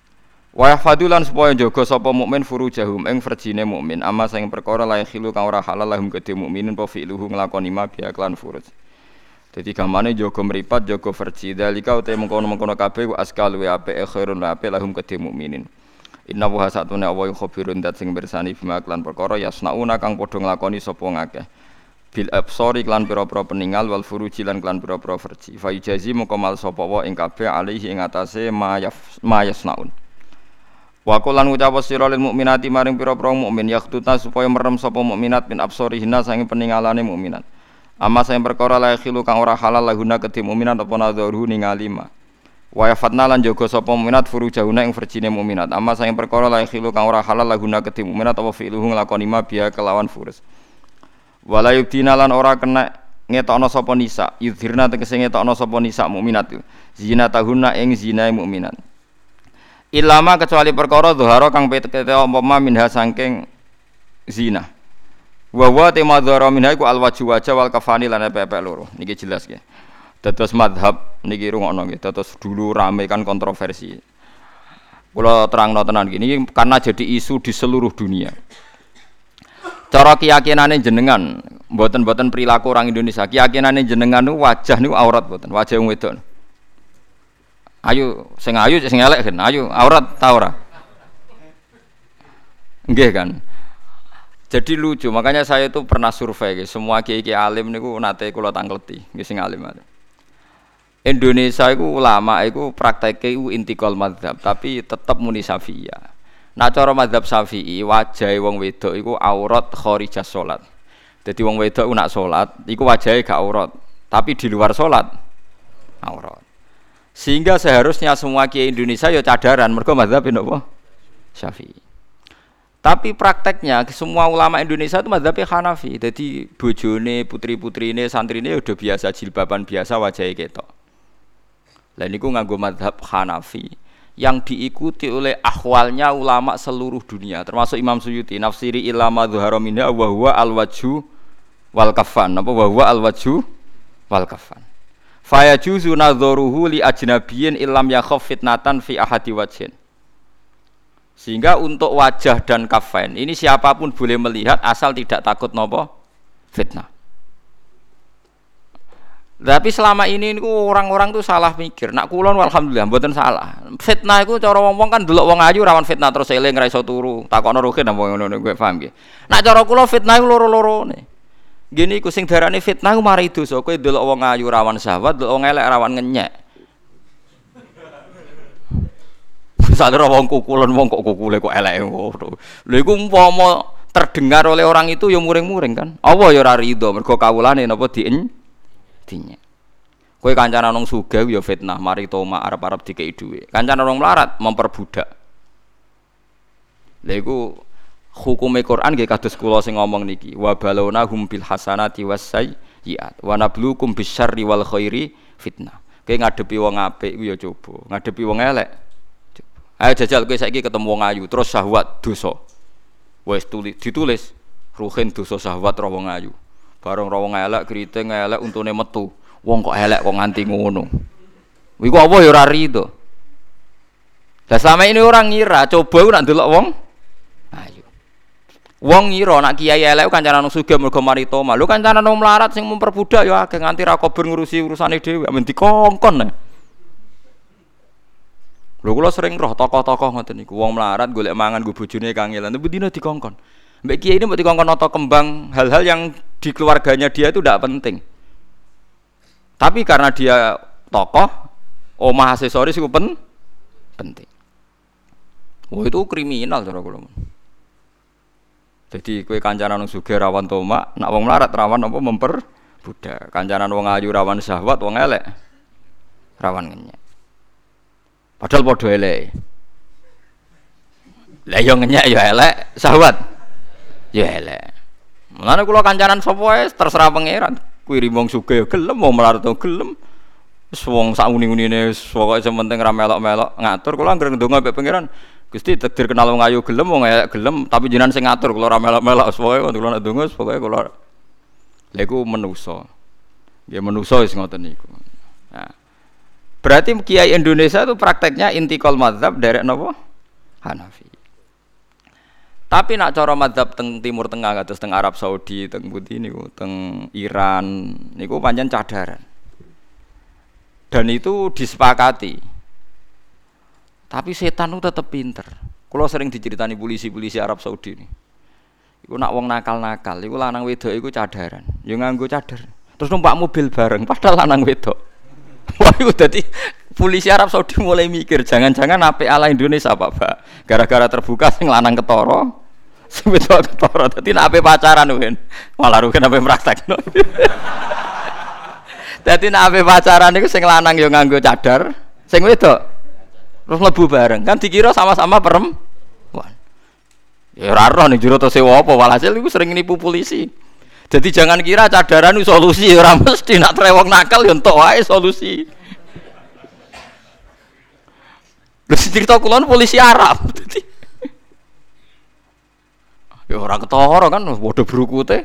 Wa yahfadulan supaya jaga sapa mukmin furujahum ing verjine mukmin amma sing perkara la khilu kang ora halal lahum kedhe mukminin apa fi'luhu nglakoni ma biya klan furuj. Dadi gamane jaga mripat jaga verji dalika uta mengkono-mengkono kabeh wa askal wa apik khairun wa apik lahum kedhe mukminin. Inna wa satune awa khabirun dat sing bersani bima klan perkara yasnauna kang padha nglakoni sapa ngakeh. Bil absari klan pira-pira peninggal wal furuji lan klan pira-pira verji. Fa ijazi moko mal sapa wa ing kabeh alaihi ing atase ma yasnaun. Wa qulan ngucap sira lil mukminati maring pira-pira mukmin yakhtutna supaya merem sapa mukminat min absarihinna sange peningalane mukminat. Amma sing perkara la khilu kang ora halal lahuna kedhe mukminat apa nadharu ningali ma. Wa yafatna lan jaga sapa mukminat furujahuna ing verjine mukminat. Amma sing perkara la khilu kang ora halal lahuna kedhe mukminat apa fi'luhu nglakoni ma biya kelawan furus. Wala yubdina lan ora kena ngetokno sapa nisa, yudhirna tegese ngetokno sapa nisa mukminat. Zinatahunna ing zinae mukminat. Ilama kecuali perkara dhuhara kang peteke umpama minha saking zina. Wa wa tema dhuhara minha iku alwaju wajah wal kafani lan pepek loro. Niki jelas nggih. Dados mazhab niki rungokno nggih. Dados dulu rame kan kontroversi. Kula terangno tenan gini karena jadi isu di seluruh dunia. Cara keyakinane jenengan, mboten-mboten perilaku orang Indonesia. Keyakinane jenengan niku wajah niku aurat mboten, wajah wong wedok. Ayo sing ayu sing elek kan ayo aurat ta ora nggih kan. Jadi lucu makanya saya itu pernah survei semua kiai-kiai alim niku nate kula tangkleti nggih sing alim alim Indonesia iku ulama iku prakteke iku intikal madzhab tapi tetep muni Syafi'iyah. Nah cara madzhab Syafi'i wajahe wong wedok iku aurat kharijah salat. Dadi wong wedok ku nak salat iku wajahe gak aurat tapi di luar salat aurat. Sehingga seharusnya semua kiai Indonesia ya cadaran mergo mazhab napa Syafi'i. Tapi prakteknya semua ulama Indonesia itu mazhab Hanafi. Jadi bojone, putri-putrine, santrine udah biasa jilbaban biasa wajahnya ketok. Lah niku nganggo mazhab Hanafi yang diikuti oleh ahwalnya ulama seluruh dunia termasuk Imam Suyuti nafsiri ilama dhuhara minha wa huwa al-wajhu wal kafan. Apa wa huwa al-wajhu wal kafan. Faya juzu nadzoruhu li ajnabiyin illam yakhaf fitnatan fi ahadi wajhin. Sehingga untuk wajah dan kafain ini siapapun boleh melihat asal tidak takut nopo fitnah. Tapi selama ini orang-orang tuh salah mikir. Nak kulon alhamdulillah mboten salah. Fitnah iku cara wong-wong kan delok wong ayu rawan fitnah terus eling ra iso turu. Takokno rugen apa ngono gue paham nggih. Nak cara kula fitnah iku loro-lorone. Gini ku sing darane fitnah ku mari dosa kowe delok wong ayu rawan syahwat, delok wong elek rawan ngenyek. Sadar wong kukulan wong kok kukule kok eleke ngono. Lha iku umpama terdengar oleh orang itu ya muring-muring kan. Allah ya ora rido mergo kawulane napa dien dinyek. Kowe kancanan wong sugih ya fitnah, mari toma arep-arep dikeki dhuwit. Kancanan wong melarat memperbudak. Lha iku hukume Quran nggih kados kula sing ngomong niki wa balawna hum bil hasanati wasayyiat wa nabluukum bisyarri wal khairi fitnah. Kowe ngadepi wong apik ku ya coba, ngadepi wong elek coba. Ayo jajal kowe saiki ketemu wong ayu terus syahwat dosa. Wis tulis ditulis ruhin dosa syahwat ro wong ayu. Bareng ro wong elek kriting elek untune metu. Wong kok elek kok nganti ngono. Iku apa ya ora rido. Lah selama ini orang ngira coba ku nak ndelok wong ayu. Wong ngira nak kiai elek kancanan wong sugih mergo mari toma. Lho kancanan wong melarat sing memperbudak ya akeh nganti ra kober ngurusi urusane dhewe, men dikongkon. Lho kula sering roh tokoh-tokoh ngoten niku. Wong melarat golek mangan nggo bojone kangelan, tapi dina dikongkon. Mbek kiai ini mbok dikongkon nata kembang hal-hal yang di keluarganya dia itu tidak penting. Tapi karena dia tokoh, omah aksesoris iku pen penting. Wah itu kriminal cara kula. Jadi kowe kancanan wong sugih rawan tomak, nak wong melarat rawan apa memperbudak. Kancanan wong ayu rawan syahwat, wong elek rawan ngenyek. Padahal padha elek. Lah yo ngenyek yo elek, syahwat yo elek. Mulane kula kancanan sapa wae terserah pangeran. Kuwi wong sugih gelem, wong melarat gelem. Wis wong sak uni-unine wis pokoke sementing ra melok-melok ngatur kula anggere ndonga mbek pangeran. Gusti takdir kenal wong ayu gelem wong elek gelem tapi jenengan sing ngatur kula ora melok-melok pokoke kula nek ndonga pokoke kula lha iku manusa. Nggih manusa wis ngoten niku. Nah. Berarti kiai Indonesia itu prakteknya intikal mazhab derek napa? Hanafi. Tapi nak cara madzhab teng Timur Tengah kados teng Arab Saudi, teng pundi niku, teng Iran niku pancen cadaran. Dan itu disepakati. Tapi setan itu tetep pinter. Kalau sering diceritani polisi-polisi Arab Saudi ini. Iku nak wong nakal-nakal, iku lanang wedok iku cadaran. Ya nganggo cadar. Terus numpak mobil bareng padahal lanang wedok. Wah iku dadi polisi Arab Saudi mulai mikir, jangan-jangan apik ala Indonesia Pak, Pak. Gara-gara terbuka sing lanang ketara. Sing wedok ketara. Dadi nek ape pacaran kan. Malah rugen ape praktekno. Dadi nek ape pacaran iku sing lanang ya nganggo cadar, sing wedok terus mlebu bareng. Kan dikira sama-sama perempuan. Ya ora roh ning jero to sewa apa walhasil iku sering nipu polisi. Jadi jangan kira cadaran itu solusi, ora mesti nak trewong nakal ya entuk wae solusi. Lha cerita kula polisi Arab. Ya ora ketara kan padha brukute.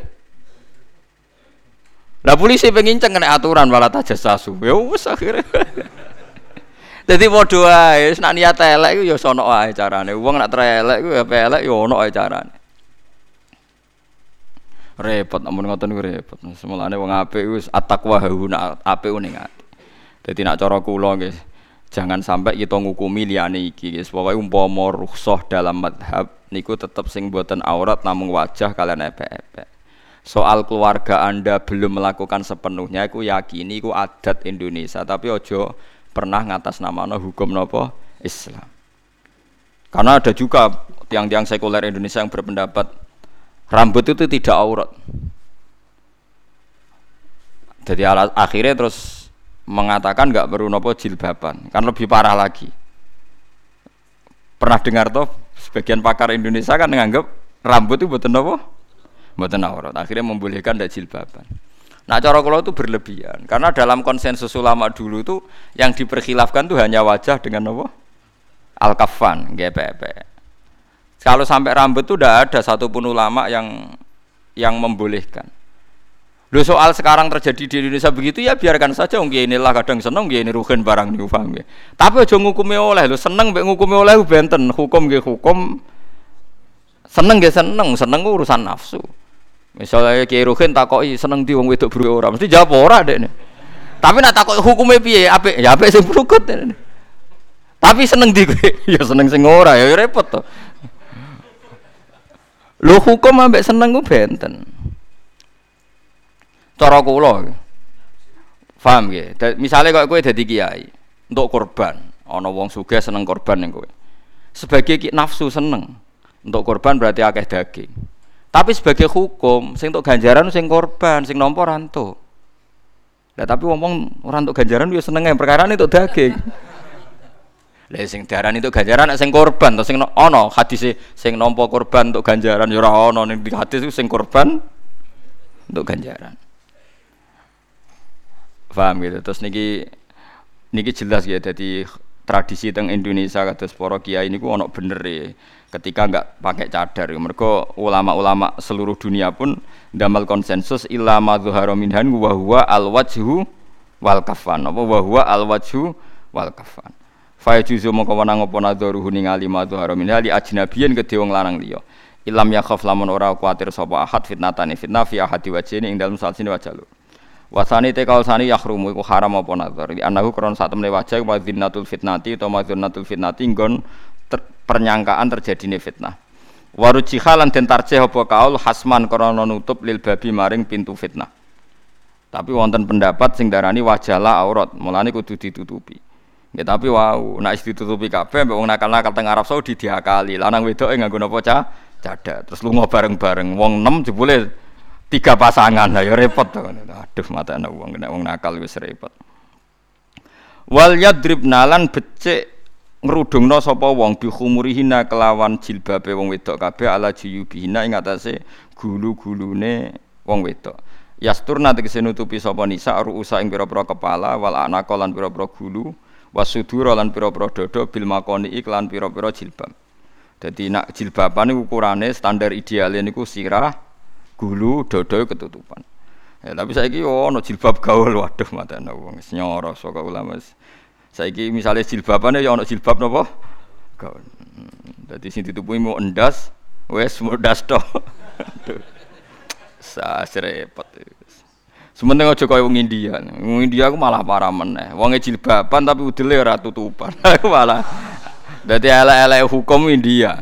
Lah polisi pengen ceng nek aturan malah tajassasu. Ya wis akhire. Dadi padha wae, nek niat elek iku ya sono wae carane. Wong nek elek iku ya elek ya ono wae carane. Repot amun ngoten niku repot. Semulane wong apik wis at-taqwa hauna apik ning ati. Dadi nek cara kula nggih jangan sampai kita ngukumi liyane iki guys. Pokoke umpama rukhsah dalam madhab niku tetep sing boten aurat namung wajah kalian epek-epek. Soal keluarga Anda belum melakukan sepenuhnya iku yakini iku adat Indonesia, tapi ojo pernah ngatasnamano hukum napa Islam. Karena ada juga tiang-tiang sekuler Indonesia yang berpendapat rambut itu tidak aurat. Jadi akhirnya terus mengatakan enggak perlu nopo jilbaban, kan lebih parah lagi. Pernah dengar toh sebagian pakar Indonesia kan menganggap rambut itu mboten nopo? Mboten aurat. Akhirnya membolehkan ndak jilbaban. Nah, cara kula itu berlebihan karena dalam konsensus ulama dulu itu yang diperkhilafkan itu hanya wajah dengan nopo? Al-kaffan, G P P. Kalau sampai rambut itu tidak ada satupun ulama yang yang membolehkan. Loh soal sekarang terjadi di Indonesia begitu ya biarkan saja. Mungkin inilah kadang seneng, mungkin ini rugen barang nih paham ya. Tapi aja ngukumi oleh, lo seneng mbek ngukumi oleh benten hukum nggih hukum, seneng nggih seneng, seneng urusan nafsu. Misalnya Kiai Rugen takoki seneng di wong wedok bruke ora, mesti jawab ora dekne. Tapi nak takoki hukume piye? Apik, ya apik sing brukut. Tapi seneng di kowe, ya seneng sing ora, ya repot to. Lho hukum ambek seneng ku benten. Cara kula. Paham nggih? Misale kok kowe dadi kiai, untuk korban, ana wong sugih seneng korban ning kowe. Sebagai ki nafsu seneng, untuk korban berarti akeh daging. Tapi sebagai hukum, sing untuk ganjaran sing korban, sing nampa ora entuk. Lah tapi wong ora entuk ganjaran yo seneng ae perkara entuk daging. Lah sing diarani itu ganjaran nek sing korban to sing ana hadise sing nampa korban untuk ganjaran ya ora ana ning hadis iku sing korban untuk ganjaran. Paham gitu. Terus niki niki jelas ya dadi tradisi teng Indonesia kados para kiai niku ana bener e ketika enggak pakai cadar. Mergo ulama-ulama seluruh dunia pun ndamal konsensus illa ma dzahara minhan wa huwa al-wajhu wal kafan. Apa wa huwa al-wajhu wal kafan. Fa juzu mongko wenang apa nadharuhu ningali madhara min hali ajnabiyen kedhe wong lanang liya. Ilam yakhaf lamun ora kuwatir sapa ahad fitnatane fitnah fi ahadi wajhine ing dalem salsine wajah lur. Wasani te kaulsani yahrumu iku haram apa nadhar. Di anahu kron sak temne wajah wa dzinnatul fitnati utawa madzunatul fitnati nggon ter, pernyangkaan terjadine fitnah. Warujiha lan den tarjih apa kaul hasman krana nutup lil babi maring pintu fitnah. Tapi wonten pendapat sing darani wajahlah aurat, mulane kudu ditutupi. Ya tapi wow, nek ditutupi kabeh mbek wong nakal-nakal teng Arab Saudi diakali. Lanang wedoke nganggo napa cah? Cadar. Terus lunga bareng-bareng. Wong enam jebule tiga pasangan. Lah ya repot to. Aduh matane wong nek wong nakal wis repot. Wal yadribna lan becik ngrudungna sapa wong bi khumurihina kelawan jilbabe wong wedok kabeh ala jiyubihina ing atase gulu-gulune wong wedok. Yasturna tegese nutupi sapa nisa ruusa ing pira-pira kepala wal anaka lan pira-pira gulu. Wasudura lan pira-pira dada bil makoni iklan pira-pira jilbab. Dadi nak jilbaban niku ukurane standar ideale niku sirah, gulu, dada ketutupan. Ya tapi saiki yo ana jilbab gaul waduh matane wong wis nyoro saka ulama. Saiki misale jilbabane yo ana jilbab napa? Gak. Dadi sing ditupuhi mau endas, wes mau ndas tok. Sa repot. Sementing aja kaya wong India. Wong India aku malah parah meneh. Wonge jilbaban tapi udele ora tutupan. Aku malah dadi elek-elek hukum India.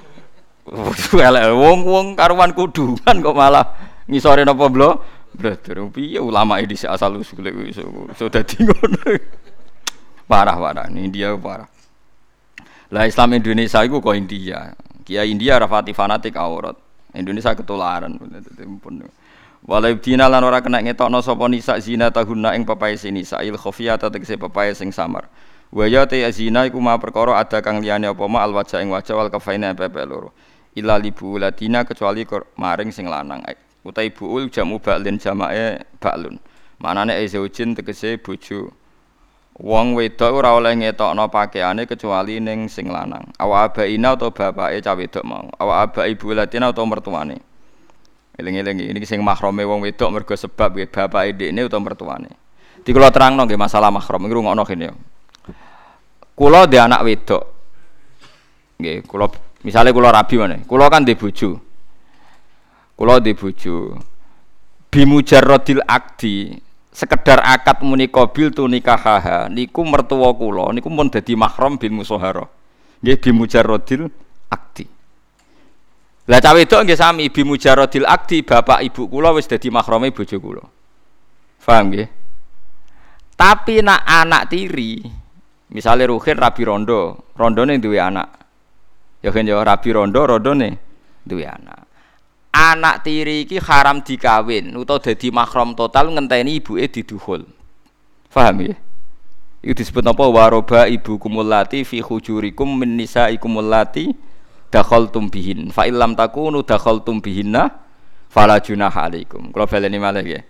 Elek wong-wong karuan kudungan kok malah ngisore napa blo? Brother, piye ulama iki asal usule iso iso dadi ngono. Parah-parah India parah. Lah Islam Indonesia iku kok India. Kiai India rafati fanatik aurat. Indonesia ketularan. Walai dina lan ora kena ngetokno sapa nisa zina tahunna ing pepae nisa il khafiyata tegese pepae sing samar. Wa ya ta zina iku ma perkara ada kang liyane apa ma al wajah ing wajah wal kafaina pepe loro. Illa libu latina kecuali maring sing lanang. Utai buul jamu ba'lin jamae ba'lun. Manane zaujin tegese bojo. Wong wedok ora oleh ngetokno pakaiane kecuali ning sing lanang. Awa abaina utawa bapake cah wedok mau. Awa abai ibu latina utawa mertuane. Eling-eling ini sing mahrame wong wedok mergo sebab nggih bapake ndekne utawa mertuane. Di kula terangno nggih masalah mahram iki rungokno kene. Kula dhe anak wedok. Nggih, kula misale kula rabi meneh. Kula kan ndek bojo. Kula ndek bojo. Bimujarradil akdi, sekedar akad muni qabil tu nikahaha niku mertua kula niku mun dadi mahram bil musahara. Nggih bimujarradil akdi. Lah cah wedok nggih sami bi mujaradil akdi bapak ibu kula wis dadi mahrame bojo kula. Paham nggih? Tapi nak anak tiri, misale Ruhin rabi rondo, rondone duwe anak. Ya kan ya rabi rondo, rondone duwe anak. Anak tiri iki haram dikawin utawa dadi mahram total ngenteni ibuke diduhul. Paham nggih? Iku disebut napa waroba ibu kumulati fi hujurikum min nisaikum allati dakhaltum bihin fa illam takunu dakhaltum bihinna fala junaha alaikum. Kula baleni malih nggih.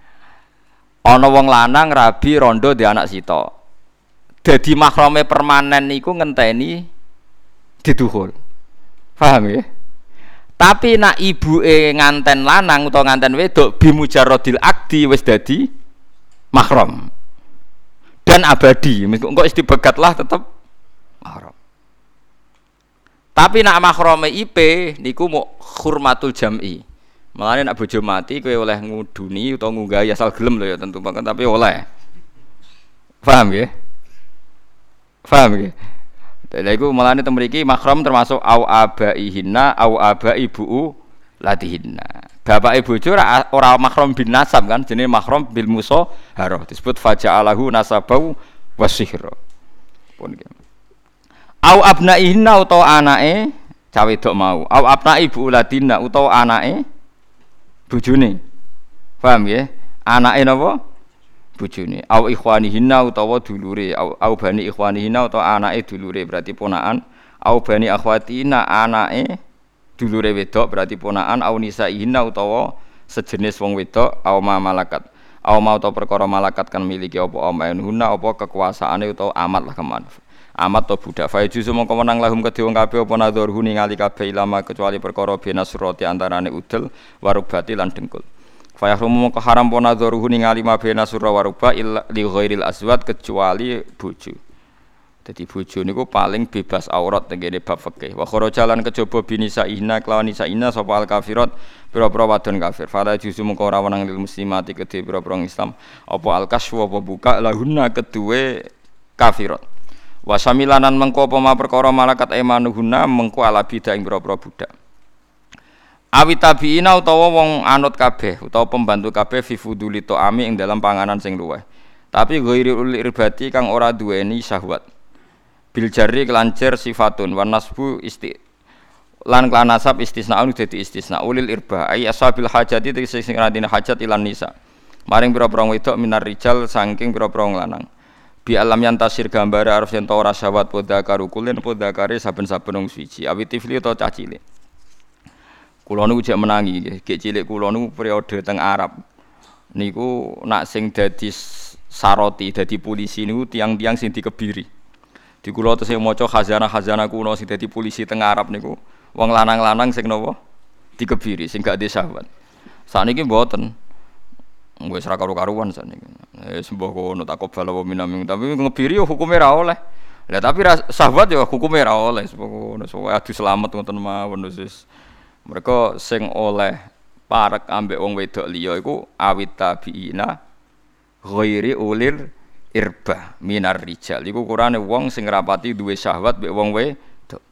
Ana wong lanang rabi rondo di anak sita. Dadi mahrame permanen niku ngenteni diduhul. Paham nggih? Tapi nak ibuke nganten lanang utawa nganten wedok bimujarradil akdi wis dadi mahram. Dan abadi, engko istibegatlah tetep mahram. Tapi nak mahrame I P niku mau hurmatul jam'i. Mulane nak bojo mati kowe oleh nguduni utawa ngunggahi asal gelem lho ya tentu banget tapi oleh. Paham nggih? Paham nggih? Lha iku mulane teng mriki mahram termasuk au abaihinna au abai buu latihinna. Bapake bojo ora ora mahram bin nasab kan jenenge mahram bil musahharah disebut faja'alahu nasabau wasihra. Pun nggih. Au abnaihinna utawa anake cah wedok mau. Au abnai ibu ladina utawa anake bojone. Paham nggih? Anake napa? Bojone. Au ikhwanihinna utawa dulure. Au, au bani ikhwanihinna utawa anake dulure berarti ponakan. Au bani akhwatina anake dulure wedok berarti ponakan. Au nisaihinna utawa sejenis wong wedok. Au ma malakat. Au ma utawa perkara malakat kan miliki apa amainunna apa kekuasaane utawa amat lah keman. Amat to budak fa juzu mongko menang lahum kedhe wong kabeh apa nadhurhu ningali kabeh ilama kecuali perkara benasroti antarane udel warubati lan dengkul. Fa yahrumu mongko haram apa nadhurhu ningali ma benasura waruba illa li ghairil azwat kecuali bojo. Dadi bojo niku paling bebas aurat tengene bab fikih. Wa kharajalan kejaba binisa ihna kelawan nisa ihna sapa al kafirat pira-pira wadon kafir. Fa juzu mongko ora wenang lil muslimati kedhe pira-pira Islam apa al kasfu apa buka lahunna keduwe kafirat. Wasamilanan mengko apa ma perkara malakat emanuhuna mengko ala bidah ing pira-pira budak. Awi tabiina utawa wong anut kabeh utawa pembantu kabeh fi fuduli ta'ami ing dalam panganan sing luweh. Tapi ghairi ul irbati kang ora duweni syahwat. Bil jarri kelancer sifatun wan nasbu isti lan kelan nasab istisnaun dadi istisna ulil irba ai asabil hajati sing ngrantine hajat ilan nisa. Maring pira-pira wedok minar rijal saking pira-pira lanang. Bi alam yang tasir gambar arep yen ta ora syahwat podha karo kulen podha kare saben-saben wong suci awit tifli utawa cah cilik. Kula niku jek menangi nggih, gek cilik kula niku periode teng Arab. Niku nak sing dadi saroti, dadi polisi niku tiang-tiang sing dikebiri. Di kula tesih maca khazanah-khazanah kuno sing dadi polisi teng Arab niku wong lanang-lanang sing napa dikebiri sing gak duwe syahwat. Sakniki mboten. Wis ra karo-karuan sakniki. Wis mbah kono takobal apa minaming tapi ngebiri hukume ra oleh. Lah tapi syahwat ya hukume ra oleh ngono. Soale adu slamet ngoten mawon wis. Mereka sing oleh parek ambek wong wedok liya iku awit tabiina ghairi ulir irba minar rijal. Iku kurane wong sing rapati duwe syahwat mbek wong wedok.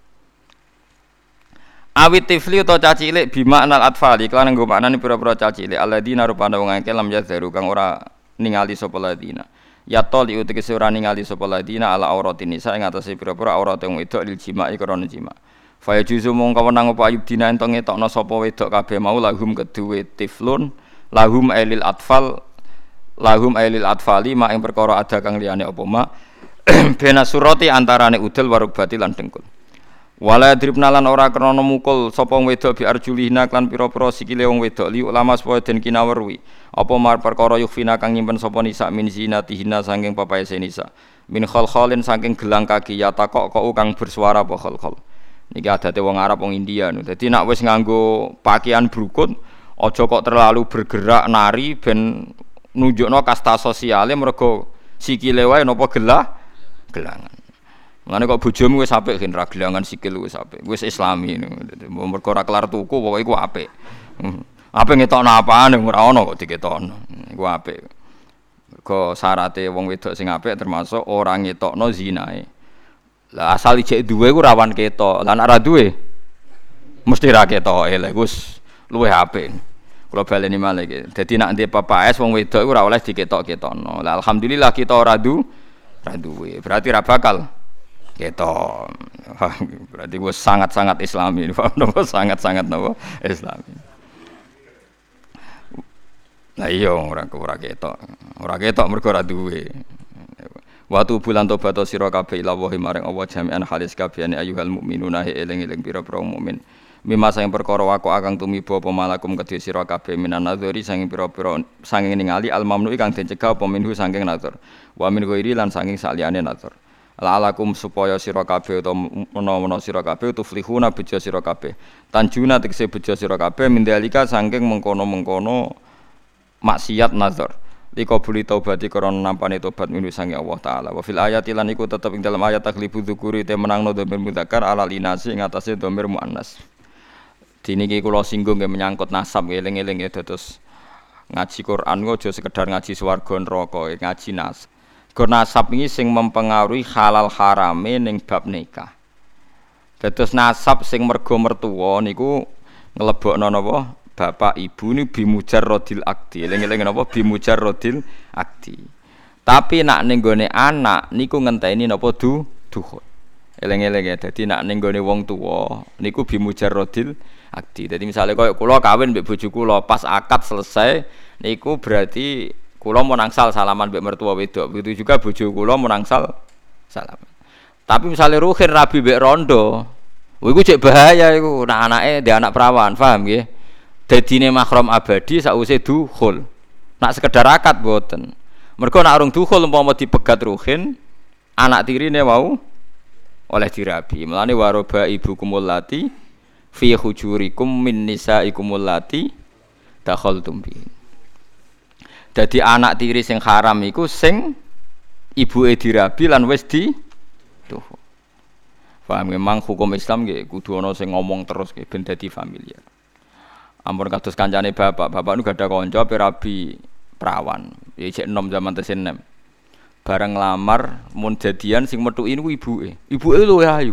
Awit tifli utawa caci cilik bima anal atfali kelan nggo maknane pira-pira caci cilik alladzina rupane wong akeh lam yadharu kang ora ningali sapa ladina. Ya toli utekese ora ningali sapa ladina ala auratin nisa ing atase pira-pira aurat wong wedok lil jima'i krana jima'. Fa yajuzu mongko wenang apa ayub dina ento ngetokno sapa wedok kabeh mau lahum keduwe tiflun lahum ailil atfal lahum ailil atfali ma ing perkara ada kang liyane apa ma bena surati antarane udel warubati lan dengkul. Wala dribna lan ora krana mukul sapa wedok bi arjulihna klan pira-pira sikile wong wedok li ulama supaya den kinawerwi apa mar perkara yukhfina kang nyimpen sapa nisa min zinatihina saking papaese nisa min khalkhalin saking gelang kaki ya takok kok kang bersuara apa khalkhal niki adate wong Arab wong India no dadi nek wis nganggo pakaian brukut aja kok terlalu bergerak nari ben nunjukno kasta sosiale mergo sikile wae napa gelah gelangan. Mulane kok bojomu wis apik gen ra gelangan sikil wis apik. Wis islami ngono. Mergo ora kelar tuku pokoke iku apik. Apik ngetokno apane ora ono kok diketokno. Iku apik. Mergo syaraté wong wedok sing apik termasuk ora ngetokno zinae. Lah asal ijek duwe ku rawan ketok. Lah nek ora duwe mesti ra ketoke. Lha wis luwih apik. Kula baleni malih iki. Dadi nek ndek papaes wong wedok iku ora oleh diketok-ketokno. Lah alhamdulillah kita ora du ra duwe. Berarti ra bakal ketok. Berarti gue sangat-sangat islami. Sangat-sangat napa islami. Lah iya ora ora ketok. Ora ketok mergo ora duwe. Watu bulan tobat sira kabeh ila wa maring Allah jami'an halis kabehane ayyuhal mukminuna eling-eling pira-pira mukmin. Mimma sang perkara wako akang tumiba apa malakum kedhe sira kabeh minan nadzuri saking pira-pira saking ningali al mamnu kang den cegah apa minhu saking nadzur. Wa min ghairi lan saking saliyane nadzur. La'alakum supaya sira kabeh utawa menawa sira kabeh tuflihuna bejo sira kabeh. Tanjuna tegese bejo sira kabeh mindalika saking mengkono-mengkono maksiat nadzur. Liko buli taubati krana nampane tobat minu sange Allah taala. Wa fil ayati lan iku tetep ing dalam ayat takhlifu dzukuri te menangno dhamir mudzakkar ala linasi ing atase dhamir muannas. Diniki kula singgung nggih menyangkut nasab eling-eling ya terus ngaji Quran aja sekedar ngaji swarga neraka ngaji nas. Gur nasab iki sing mempengaruhi halal harame ning bab nikah. Dados nasab sing mergo mertua niku nglebokno napa bapak ibu ni bimujarrodil akdi. Eling-eling napa bimujarrodil akdi. Tapi nak ning gone anak niku ngenteni napa du dukhul. Eling-eling ya dadi nak ning gone wong tuwa niku bimujarrodil akdi. Dadi misale koyo kula kawin mbek bojo kula pas akad selesai niku berarti kula mau nangsal salaman mbek mertua wedok. Begitu juga bojo kula mau nangsal salaman. Tapi misale ruhin rabi mbek rondo, iku cek bahaya iku. Nak anake ndek anak perawan, paham nggih? Dadine mahram abadi sakwise dukhul. Nak sekedar akad mboten. Mergo nak urung dukhul umpama dipegat ruhin, anak tirine mau oleh dirabi. Mulane waroba ibukumul lati fi hujurikum min nisaikumul lati dakhaltum bi. Dadi anak tiri sing haram iku sing ibuke dirabi lan wis di tuh. Paham memang hukum Islam nggih kudu ana sing ngomong terus nggih ben dadi familiar. Ampun kados kancane bapak, bapak nu gadah kanca rabi perawan. Iki enom zaman tesih enam. Bareng lamar mun jadian sing metuki niku ibuke. Ibuke luwih ayu.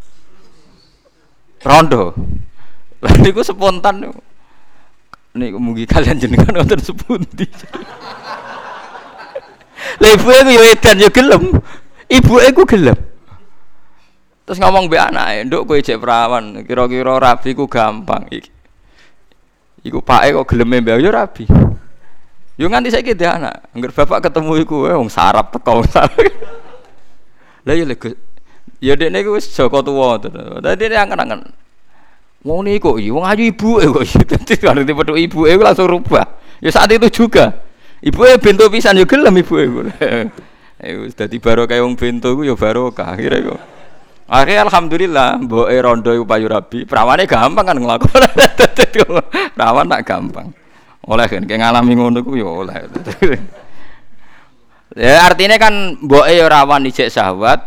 Rondo. Lah niku spontan. Nek mugi kalian jenengan wonten sepundi. Lah ibuke ku yo edan yo gelem. Ibuke ku gelem. Terus ngomong mbek anake, "Nduk kowe jek perawan, kira-kira rabi ku gampang iki." Iku pake kok geleme mbek yo rabi. Yo nganti saiki dhek anak, angger bapak ketemu iku wong sarap teko. Lah yo lek yo dekne iku wis Joko tuwa. Dadi nek angen-angen. Wong niku iki wong ayu ibuke kok. Dadi arep petuk ibuke langsung rubah. Ya saat itu juga. Ibuke bento pisan yo gelem ibuke. Eh wis dadi barokah wong bento iku yo barokah akhire iku. Akhirnya alhamdulillah mboke rondo iku payu rabi, perawane gampang kan nglakoni. Perawan tak gampang. Oleh kan kayak ngalami ngono ku ya oleh. Ya artinya kan mboke ya rawan ijek syahwat,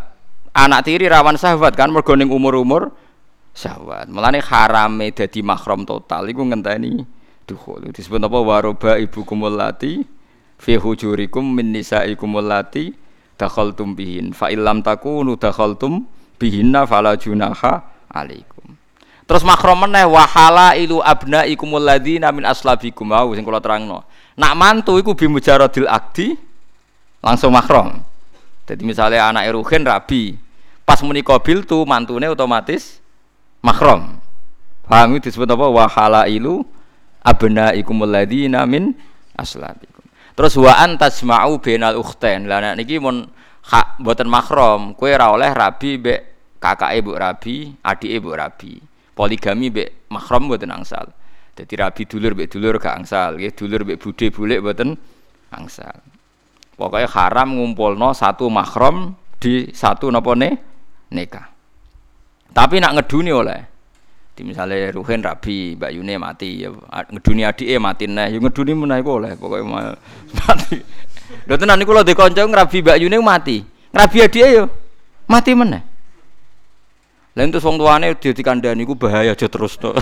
Anak tiri rawan syahwat kan mergo ning umur-umur syahwat. Mulane harame dadi mahram total iku ngenteni dukhul. Disebut apa waroba ibukumul lati fi hujurikum min nisaikumul lati dakhaltum bihin. Fa illam takunu dakhaltum bihinna fala junaha alaikum. Terus mahram meneh wa halailu abnaikumul ladzina min aslabikum. Wau sing kula terangno. Nak mantu iku bimujaradil akdi langsung mahram. Jadi misalnya anak Ruhin rabi, pas muni qabil tu mantune otomatis mahram. Paham itu disebut apa? Wa halailu abnaikumul ladzina min aslabikum. Terus wa antasma'u bainal ukhtain. Lah nek niki mun hak mboten mahram, kowe ora oleh rabi mbek kakake mbok rabi, adike mbok rabi. Poligami mbek mahram mboten angsal. Dadi rabi dulur mbek dulur gak angsal, nggih dulur mbek budhe bulik mboten angsal. Pokoknya haram ngumpulno satu mahram di satu napa ne nikah. Tapi nak ngeduni oleh. Di misale Ruhin rabi, Mbak Yune mati, ya ngeduni adike mati neh, ya ngeduni meneh iku oleh pokoke mati. Lha tenan niku lho de kanca ngrabi Mbak Yune mati. Ngrabi adike yo mati meneh. Lah entus wong tuane dikandani iku bahaya aja terus to.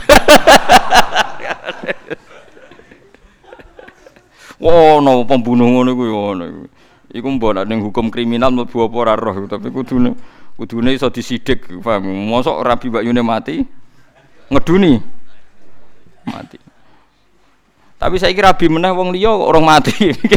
Wah, no pembunuh ngono iku yo ngono iku. Iku mbok nek ning hukum kriminal mlebu apa ora roh, tapi kudune kudune iso disidik, paham. Mosok rabi Mbak Yune mati ngeduni mati. Tapi saiki rabi meneh wong liya kok orang mati.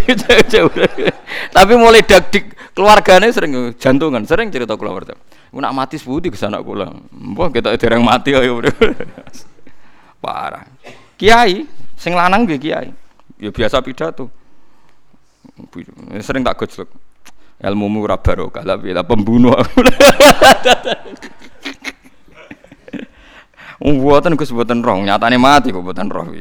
Tapi mulai dak-dik keluargane sering jantungan, sering cerita kula warta. Ku nak mati sepundi kesana kula. Mbah ketok dereng mati ayo. Parah. Kiai sing lanang nggih kiai. Ya biasa pidato. Sering tak gojlok. Ilmumu ora barokah, tapi ta pembunuh. Mboten Gus mboten roh, nyatane mati kok mboten roh.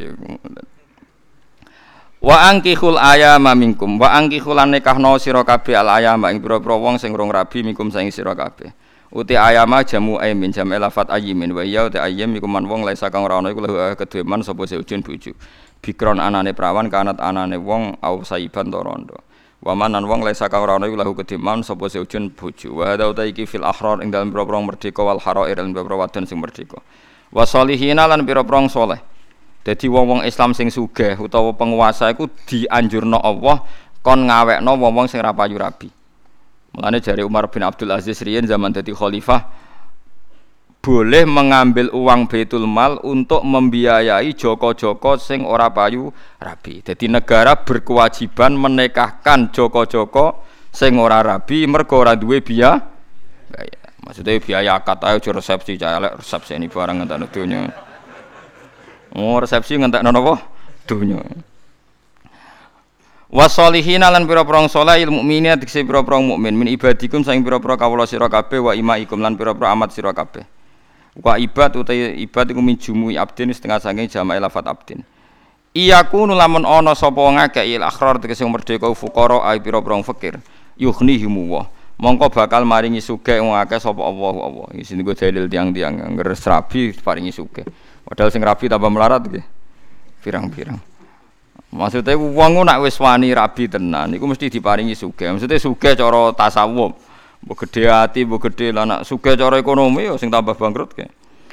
Wa angkihul ayama minkum, wa angkihul nikahno sira kabeh al ayama ing pira-pira wong sing rong rabi minkum saing sira kabeh. Uti ayama jamu aymin jam elafat ayimin wa ya uti ayim iku man wong laisa kang ora ana iku kedue man sapa seujun bojo. Bikron anane prawan kanat anane wong au saiban to rondo. Wa manan wong laisa kang ora ana iku lahu kediman sapa seujun bojo. Wa hada uta iki fil ahrar ing dalem pira-pira merdeka wal harair lan pira-pira wadon sing merdeka. Wa salihina lan pira-pira saleh. Dadi wong-wong Islam sing sugih utawa penguasa iku dianjurna Allah kon ngawekno wong-wong sing ra payu rabi. Mulane jare Umar bin Abdul Aziz riyen zaman dadi khalifah boleh mengambil uang Baitul Mal untuk membiayai joko-joko sing ora payu rabi. Jadi negara berkewajiban menikahkan joko-joko sing ora rabi mergo ora duwe biaya. Maksudnya biaya akad ae aja resepsi cah elek resepsi ini barang ngentekno donya. Oh resepsi ngentekno napa? Donya. Wasolihina lan pira-pira saleh il mukminin dikse pira-pira mukmin min ibadikum saing pira-pira kawula sira kabeh wa imaikum lan pira-pira amat sira kabeh. Wa ibad utawa ibad iku min jumu'i abdin setengah saking jama'i lafat abdin. Iyaku nulamun ana sapa ngakeh il akhrar tegese merdeka fuqara ai pira-pira fakir yughnihimu wa mongko bakal maringi sugih wong akeh sapa Allah Allah. Iki sing dalil tiang-tiang ngres rabi paringi sugih. Padahal sing rabi tambah melarat nggih. Pirang-pirang. Maksudnya wong nak wis wani rabi tenan iku mesti diparingi sugih. Maksudnya sugih cara tasawuf. Mbok gedhe ati, mbok gedhe lan nak sugih cara ekonomi ya sing tambah bangkrut ke.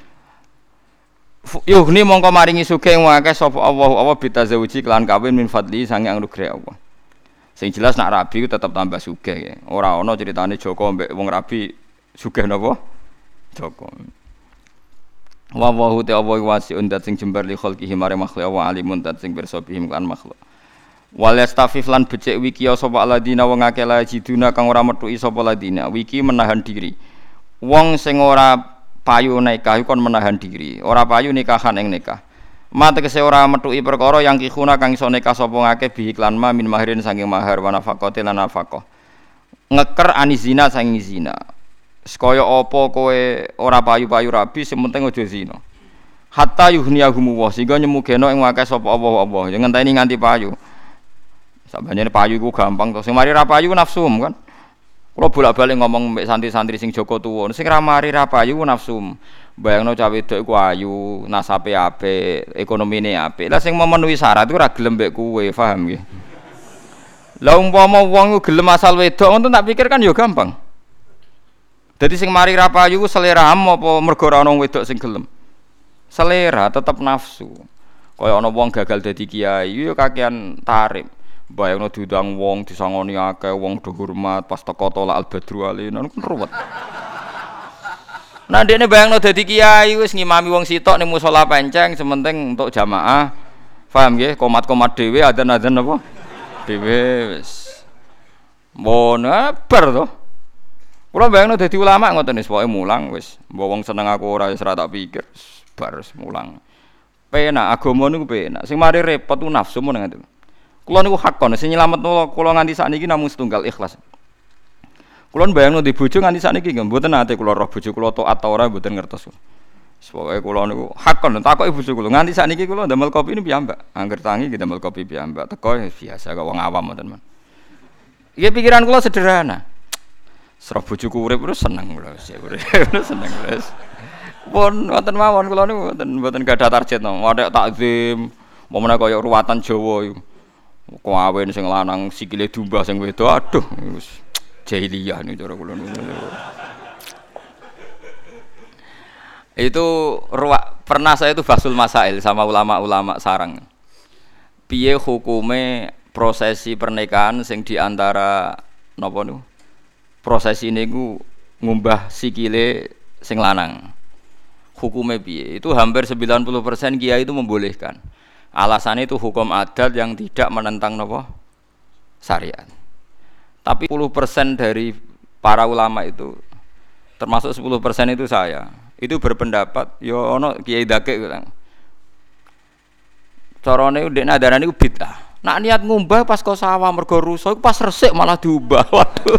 Yuhni mongko maringi sugih wong akeh sapa Allah Allah bitazawuji kelan kawin min fadli sange anugerah Allah. Sing jelas nak rabi ku tetep tambah sugih ya. Ora ana critane Joko mbek wong rabi sugih napa? Joko. Wa wa ta wa wasiun dat sing jembar li khalqihi mare makhluk wa alimun dat sing pirsa bihim kan makhluk. Wal yastafif lan becik wiki sapa aladina wong akeh la jiduna kang ora metuki sapa ladina. Wiki menahan diri. Wong sing ora payu nikah kon menahan diri. Ora payu nikahan ing nikah. Mate kese ora metuki perkara yang kihuna kang iso nikah sapa ngakeh bi iklan ma min mahirin saking mahar wa nafaqati lan nafaqah. Ngeker anizina saking zina. Sekaya apa kowe ora payu-payu rabi sing penting aja zina. Hatta yuhniyahum wa sehingga nyemugeno ing akeh sapa Allah-Allah. Ya ngenteni nganti payu. Sabane payu iku gampang to. Sing mari ra payu nafsum kan. Kula bolak-balik ngomong mbek santri-santri sing Joko tuwa. Sing ra mari ra payu nafsum. Bayangno cah wedok iku ayu, nasabe apik, ekonomine apik. Lah sing memenuhi syarat iku ra gelem mbek kowe, paham nggih? Lah umpama wong iku gelem asal wedok, ngono tak pikir kan ya gampang. Dadi sing mari ra payu ku seleramu apa mergo ora ana wedok sing gelem? Selera tetep nafsu. Kaya ana wong gagal dadi kiai yo kakean tarif. Bayangno diundang wong disangoni akeh, wong do hormat pas teko tolak al-badru alina kan ruwet. Nah ndekne bayangno dadi kiai wis ngimami wong sitok ning musala penceng sementing untuk jamaah. Paham nggih? Komat-komat dhewe adzan-adzan apa? Dhewe wis. Mon bar to. Kula bayangno dadi ulama ngoten wis pokoke mulang wis. Mbok wong seneng aku ora wis ora tak pikir. Bar mulang. Penak agama niku penak. Sing mari repot ku nafsu mun ngoten. Kula niku hakon sing nyelametno kula nganti sakniki namung setunggal ikhlas. Kula bayangno di bojo nganti sakniki nggih mboten nate kula roh bojo kula taat ta ora mboten ngertos. Pokoke kula niku hakon takoki bojo kula nganti sakniki kula ndamel kopi niku piyambak. Angger tangi kita ndamel kopi piyambak. Teko biasa kok wong awam mboten men. Iki pikiran kula sederhana. Serah bojoku urip terus seneng kula wis urip seneng wis. Pun wonten mawon kula niku mboten mboten gadah target no. Wadah takzim, momene kaya ruwatan Jawa iku. Kawin sing lanang sikile dumbah sing wedok aduh wis jahiliyah niku cara kula niku. Itu ruwak pernah saya itu basul masail sama ulama-ulama sarang. Piye hukume prosesi pernikahan sing diantara napa niku? Prosesi niku ngumbah sikile sing lanang. Hukumnya piye? Itu hampir sembilan puluh persen kiai itu membolehkan. Alasannya itu hukum adat yang tidak menentang napa? Syariat. Tapi sepuluh persen dari para ulama itu termasuk sepuluh persen itu saya. Itu berpendapat ya ono kiai dakek bilang. Carane ndekne adarane ku bid'ah. Nak niat ngumbah pas kok sawah mergo rusak pas resik malah diubah. Waduh.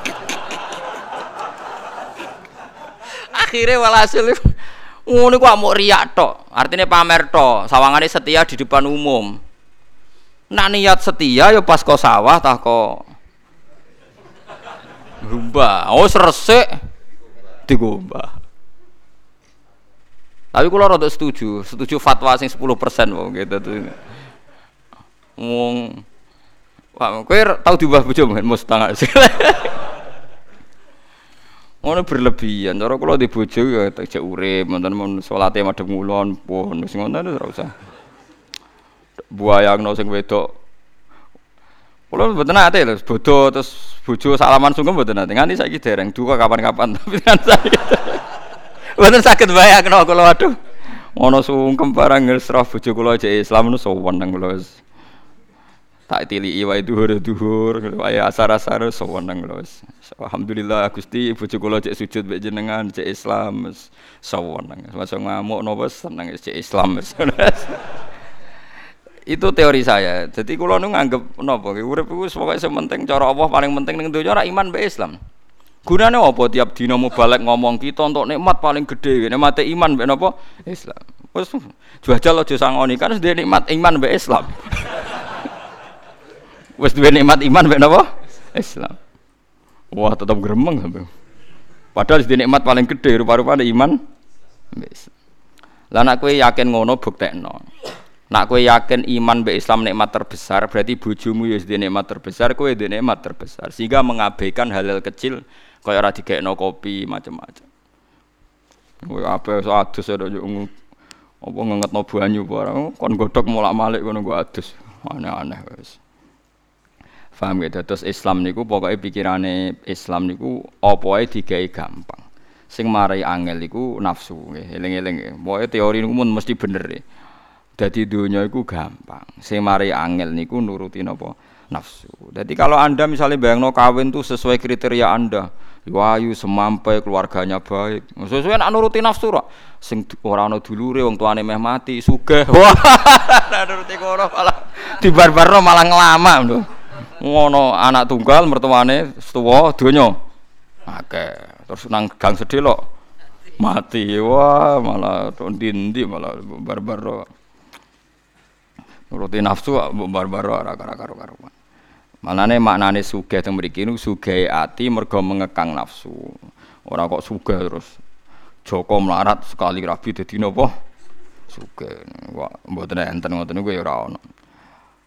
Akhirnya walhasil ngono ku amuk riyak tok, artinya pamer tok, sawangane setia di depan umum. Nak niat setia ya pas kok sawah tah kok rumbah. Oh resik digombah. Tapi kula rada setuju, setuju fatwa sing sepuluh persen wong gitu tuh. Wong wah, kowe tau diubah bojo mben mustang. Ngono berlebihan, cara kula di bojo ya tak urip, wonten men salate madhep ngulon, pun wis ngono ora usah. Buayangno sing wedok. Kula mboten ate lho, bodho terus bojo salaman sungkem mboten ate. Nganti saiki dereng duka kapan-kapan tapi kan saiki. Mboten saged bayangno kula waduh. Ngono sungkem barang ngesrah bojo kula jek Islam nu sowan nang kula. Tak tiliki wae dhuwur-dhuwur, wae asar-asar soweneng lho. Alhamdulillah Gusti bojo kula cek sujud mek jenengan cek Islam soweneng. Masa ngamuk napa seneng cek Islam. Itu teori saya. Jadi kula nu nganggep napa urip iku pokoke sementing cara Allah paling penting ning donya ora iman mek Islam. Gunane apa tiap dina mubalek ngomong kita untuk nikmat paling gede, nikmate iman mek napa Islam. Wes jajal aja sangoni kan wis nikmat iman mek Islam. Wes duwe nikmat iman mek napa? Islam. Wah, tetap gremeng sampe. Padahal wis nikmat paling gede rupa-rupane iman. Wis. Lah nek kowe yakin ngono buktekno. Nek kowe yakin iman mek Islam nikmat terbesar, berarti bojomu ya wis nikmat terbesar, kowe duwe nikmat terbesar. Sehingga mengabaikan hal-hal kecil kaya ora digekno kopi macam-macam. Kowe ape iso adus ada apa ngengetno banyu barang kon godhog molak-malik ngono go adus. Aneh-aneh wis. Paham ya, terus Islam niku pokoknya pikirane Islam niku apa wae digawe gampang. Sing marai angel iku nafsu nggih, eling-eling nggih. Pokoke teori niku mun mesti bener e. Dadi donya iku gampang. Sing marai angel niku nuruti napa? Nafsu. Jadi kalau Anda misalnya bayangno kawin tuh sesuai kriteria Anda, wayu semampai keluarganya baik. Sesuai nek nuruti nafsu ra. Sing ora ana dulure wong tuane meh mati, sugih. Wah, nuruti kono malah dibarbarno malah ngelama lho. Ngono anak tunggal mertuane tuwa donya akeh terus nang gang sedhelok mati wah malah ndi-ndi malah barbar nuruti nafsu barbar ora karo-karo manane maknane sugih teng mriki niku sugih ati mergo mengekang nafsu ora kok sugih terus Joko melarat sekali rabi dadi napa sugih wah mboten enten ngoten niku ya ora ana.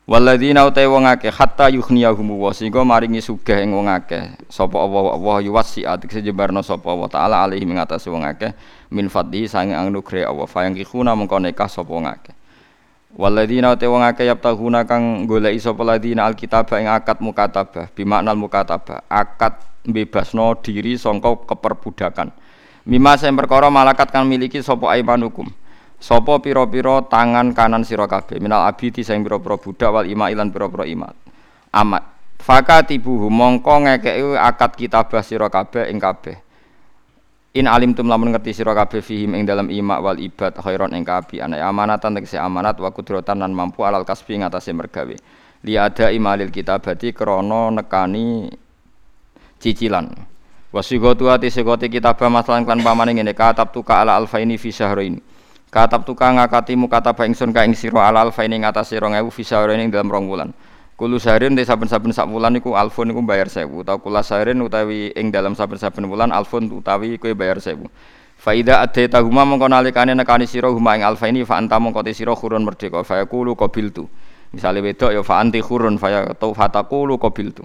Walladzina utai wong akeh hatta yughniyahum wa sehingga maringi sugih ing wong akeh sapa Allah Allah yuwasi'at sejebarno sapa Allah taala alaihi mengatasi wong akeh min fadli sange anugerah Allah fayang kikuna mengko nekah sapa wong akeh. Walladzina utai wong akeh yaptahuna kang goleki sapa ladina alkitabah ing akad mukatabah bimaknal mukatabah akad bebasno diri sangka keperbudakan. Mimma sing perkara malakat kang miliki sapa aimanukum sapa pira-pira tangan kanan sira kabeh minal abidi sing pira-pira budak wal ima ilan pira-pira imat amat fakatibuhu mongko ngekeki akad kitabah sira kabeh ing kabeh in alimtum lamun ngerti sira kabeh fihim ing dalam ima wal ibad khairon ing kaapian amanatan tegese amanat wa kudratan lan mampu alal kasbi ngatasé mergawe li ada imalil kitabati krana nekani cicilan wasigatu ati segoti kitabah masalan kan pamane ngene katab tuka ala alfaini fi syahrain katab tukang ngakati mukataba ingsun ka ing sira alal fa ing ngatasé rong ewu fisahare ing dalam rong wulan. Kulo sahren te saben-saben sak wulan niku alfun niku bayar seribu utawa kula sahren utawi ing dalam saben-saben wulan alfun utawi kowe bayar seribu. Fa ida adaita huma mongko nalikane nekani sira huma ing alfa ini fa anta mongko te sira khurun merdeka fa yaqulu qabiltu. Misale wedok ya fa anti khurun fa yaqtu fataqulu qabiltu.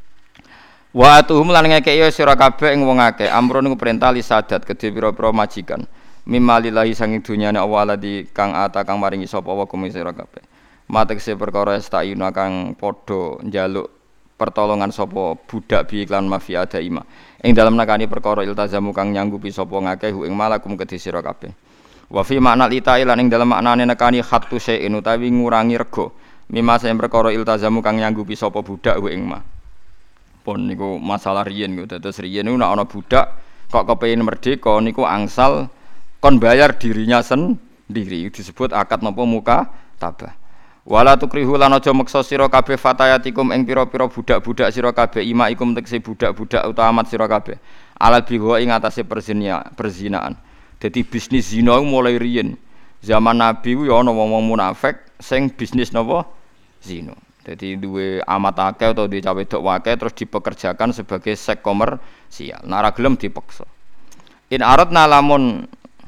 Wa atuhum lan ngekeki sira kabeh ing wong akeh amrun niku perintah li sadat kedhe pira-pira majikan. Mimalillahi sanging dunyane Allah ladi kang ata kang maringi sapa wa kum sira kabeh. Matekse perkara estayuna kang padha njaluk pertolongan sapa budak bi iklan mafia daima. Ing dalem nakani perkara iltazamu kang nyanggupi sapa ngakeh ing malakum kedhi sira kabeh. Wa fi makna litai lan ing dalem maknane nekani khattu syai'in utawi ngurangi rega. Mimma sing perkara iltazamu kang nyanggupi sapa budak ing ma. Pun niku masalah riyen niku dados riyen niku nek ana budak kok kepengin merdeka niku angsal kon bayar dirinya sendiri disebut akad napa muka tabah. Wala tukrihu lan aja meksa sira kabeh fatayatikum ing pira-pira budak-budak sira kabeh imaikum tekse budak-budak utawa amat sira kabeh. Alal biwa ing atase perzinia, perzinaan. Dadi bisnis zina mulai riyen. Zaman Nabi ku ya ana wong-wong munafik sing bisnis napa zina. Dadi duwe amat akeh utawa duwe cawe wedok akeh terus dipekerjakan sebagai seks komersial. Nek ora gelem dipaksa. In aradna lamun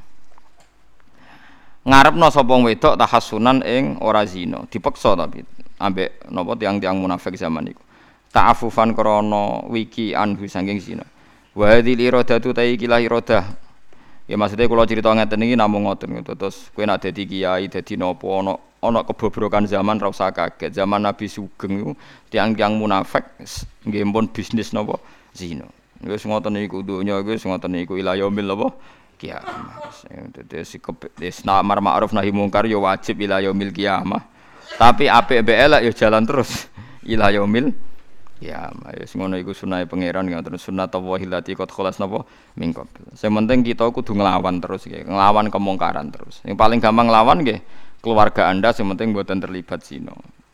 ngarepno sapa wedok tahassunan ing ora zina dipaksa tapi ambek napa tiang-tiang munafik zaman iku ta'affufan krana wiki anhu saking zina wa hadhil iradatu ta iki la iradah ya maksude kula crita ngeten iki namung ngoten terus kowe nek dadi kiai dadi napa ana ana kebobrokan zaman ra usah kaget zaman Nabi Sugeng iku tiang-tiang munafik nggih pun bisnis napa zina wis ngoten iku donya wis ngoten iku ila yaumil apa kiamat. Dadi sikep wis amar ma'ruf nahi mungkar ya wajib ila yaumil kiamah. Tapi apik mbek elek ya jalan terus ila yaumil kiamah. Wis ngono iku sunnahe pangeran ngoten sunnatullah allati qad khalas napa mingko. Sing penting kita kudu nglawan terus nggih, nglawan kemungkaran terus. Yang paling gampang nglawan nggih keluarga Anda sing penting mboten terlibat zina.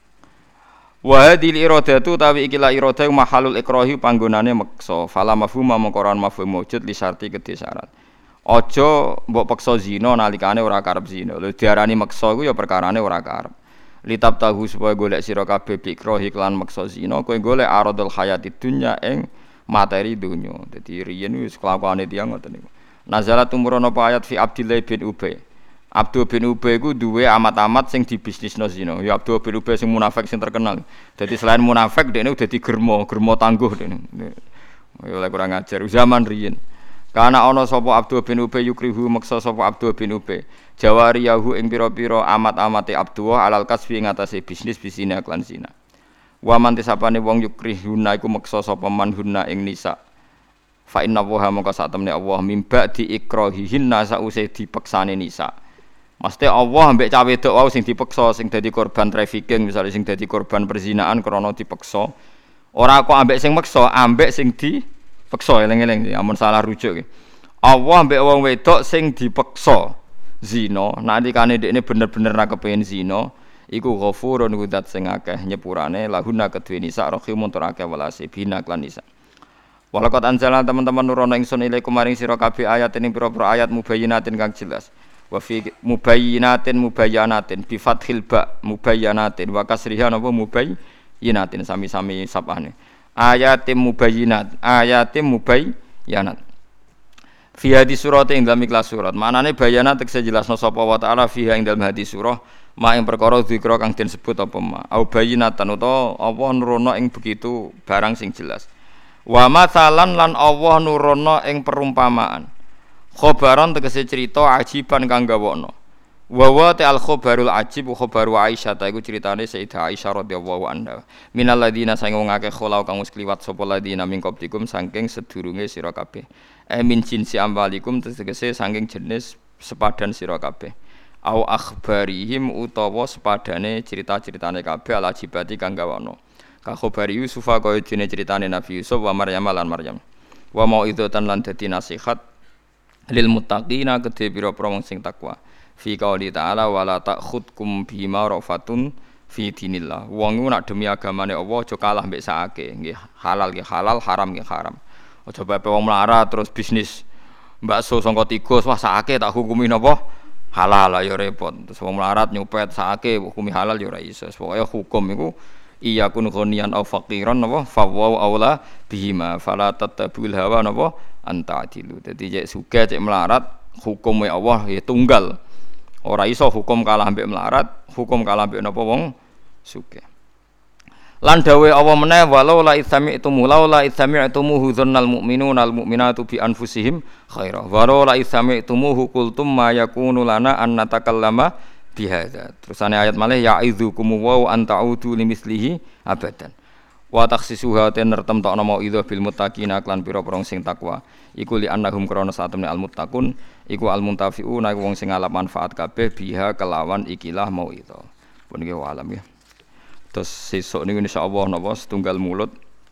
Wa hadhil iradatu tawi iki la iradah mahalul ikrahi panggonane meksa. Fala mafhum mongkoran mafhum wujud li syarti kedhe syarat. Aja mbok peksa zina nalikane ora karep zina. Lho diarani meksa iku ya perkarane ora karep. Litab tahu supaya golek sira kabeh bikrohi lan meksa zina kowe golek aradul hayati dunya ing materi dunya. Dadi riyen wis kelakuane tiyang ngoten niku. Nazalat umurana apa ayat fi Abdillah bin Ubay. Abdul bin Ubay iku duwe amat-amat sing dibisnisno zina. Ya Abdul bin Ubay sing munafik sing terkenal. Dadi selain munafik dekne dadi germo, germo tangguh dekne. Ya oleh kurang ajar zaman riyen. Kana ana sapa Abdul bin Ubay yukrihu maksa sapa Abdul bin Ubay jawariyahu ing pira-pira amat-amate Abdullah alal kasbi ing atase bisnis bisine lan zina. Wa man tisapane wong yukrihuna iku maksa sapa manhunna ing nisa. Fa inna wa maka sak temne Allah mimba diikrahihinna sause dipeksane nisa. Mesti Allah ambek cawe wedok wae sing dipeksa sing dadi korban trafficking misalnya sing dadi korban perzinaan krana dipeksa. Ora kok ambek sing meksa, ambek sing di peksa eling-eling amun salah rujuk iki. Allah mbek wong wedok sing dipeksa zina, nalikane dekne bener-bener ra kepengin zina, iku ghafurun kudat sing akeh nyepurane lahuna kedue nisa rahimun tur akeh welase bina lan nisa. Walaqad anzalna teman-teman nurono ingsun ilaikum maring sira kabeh ayat ing pira-pira ayat mubayyinatin kang jelas. Wa fi mubayyinatin mubayyanatin bi fathil ba mubayyanatin wa kasriha napa mubayyinatin sami-sami sapane. Ayatim mubayyinat ayatim mubayyanat Fi hadis surah ing dalam ikhlas surat. Manane bayana tekse jelasno sapa wa ta'ala fiha ing dalam hadis surah ma ing perkara dzikra kang den sebut apa ma. Au bayinatan utawa apa nurono ing begitu barang sing jelas. Wa matsalan lan Allah nurono ing perumpamaan. Khobaran tegese cerita ajiban kang gawono. Wa wa ta'al khobarul ajib khobaru Aisyah ta iku critane Sayyidah Aisyah radhiyallahu anha. Minal ladina sang wong akeh kholau kang wis kliwat sapa ladina min qablikum saking sedurunge sira kabeh. E min jinsi amwalikum tegese saking jenis sepadan sira kabeh. Au akhbarihim utawa sepadane cerita-ceritane kabeh al ajibati kang gawono. Ka khobari Yusuf kaya dene critane Nabi Yusuf wa Maryam lan Maryam. Wa mau'izatan lan dadi nasihat lil muttaqina kedhe pira-pira wong sing takwa. Fi qauli ta'ala wala ta'khudkum bima rafatun fi dinillah. Wong iku nak demi agamane Allah aja kalah mbek sakake. Nggih halal nggih halal, haram nggih haram. Aja bae wong melarat terus bisnis bakso sangka tikus wah sakake tak hukumi napa? Halal ya repot. Terus wong melarat nyopet sakake hukumi halal ya ora iso. Pokoke hukum iku iya kun ghaniyan aw faqiran napa fawwa aula bihima fala tatabul hawa napa anta'dilu. Dadi cek sugih cek melarat hukume Allah ya tunggal. Ora iso hukum kalah ambek melarat, hukum kalah ambek napa wong sugih. Lan dawe Allah meneh walau la itsami'tu mulau la itsami'tumuhu dzannal mu'minuna al mu'minatu bi anfusihim khaira. Walau la itsami'tumuhu qultum ma yakunu lana an natakallama bihadza. Terusane ayat malih ya'idzukum wa an ta'udu limislihi abadan. Wa takhsisuha tenertem tok nama idza bil muttaqina lan pira-pira sing takwa. Iku li annahum krana satemene al muttaqun iku al muntafiuna iku wong sing ngalap manfaat kabeh biha kelawan ikilah mau itu. Pun iki alam ya. Terus sesuk niku insyaallah napa setunggal mulut.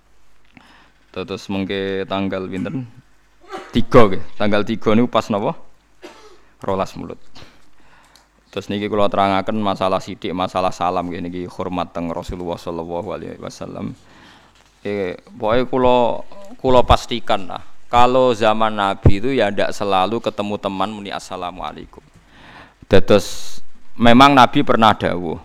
Terus mengke tanggal pinten? tiga nggih. Tanggal tiga niku pas napa? rolas mulut. Terus niki kula terangaken masalah sithik masalah salam nggih niki hormat teng Rasulullah sallallahu alaihi wasallam. Eh pokoke kula kula pastikan lah kalau zaman Nabi itu ya ndak selalu ketemu teman muni assalamualaikum. Dados memang Nabi pernah dawuh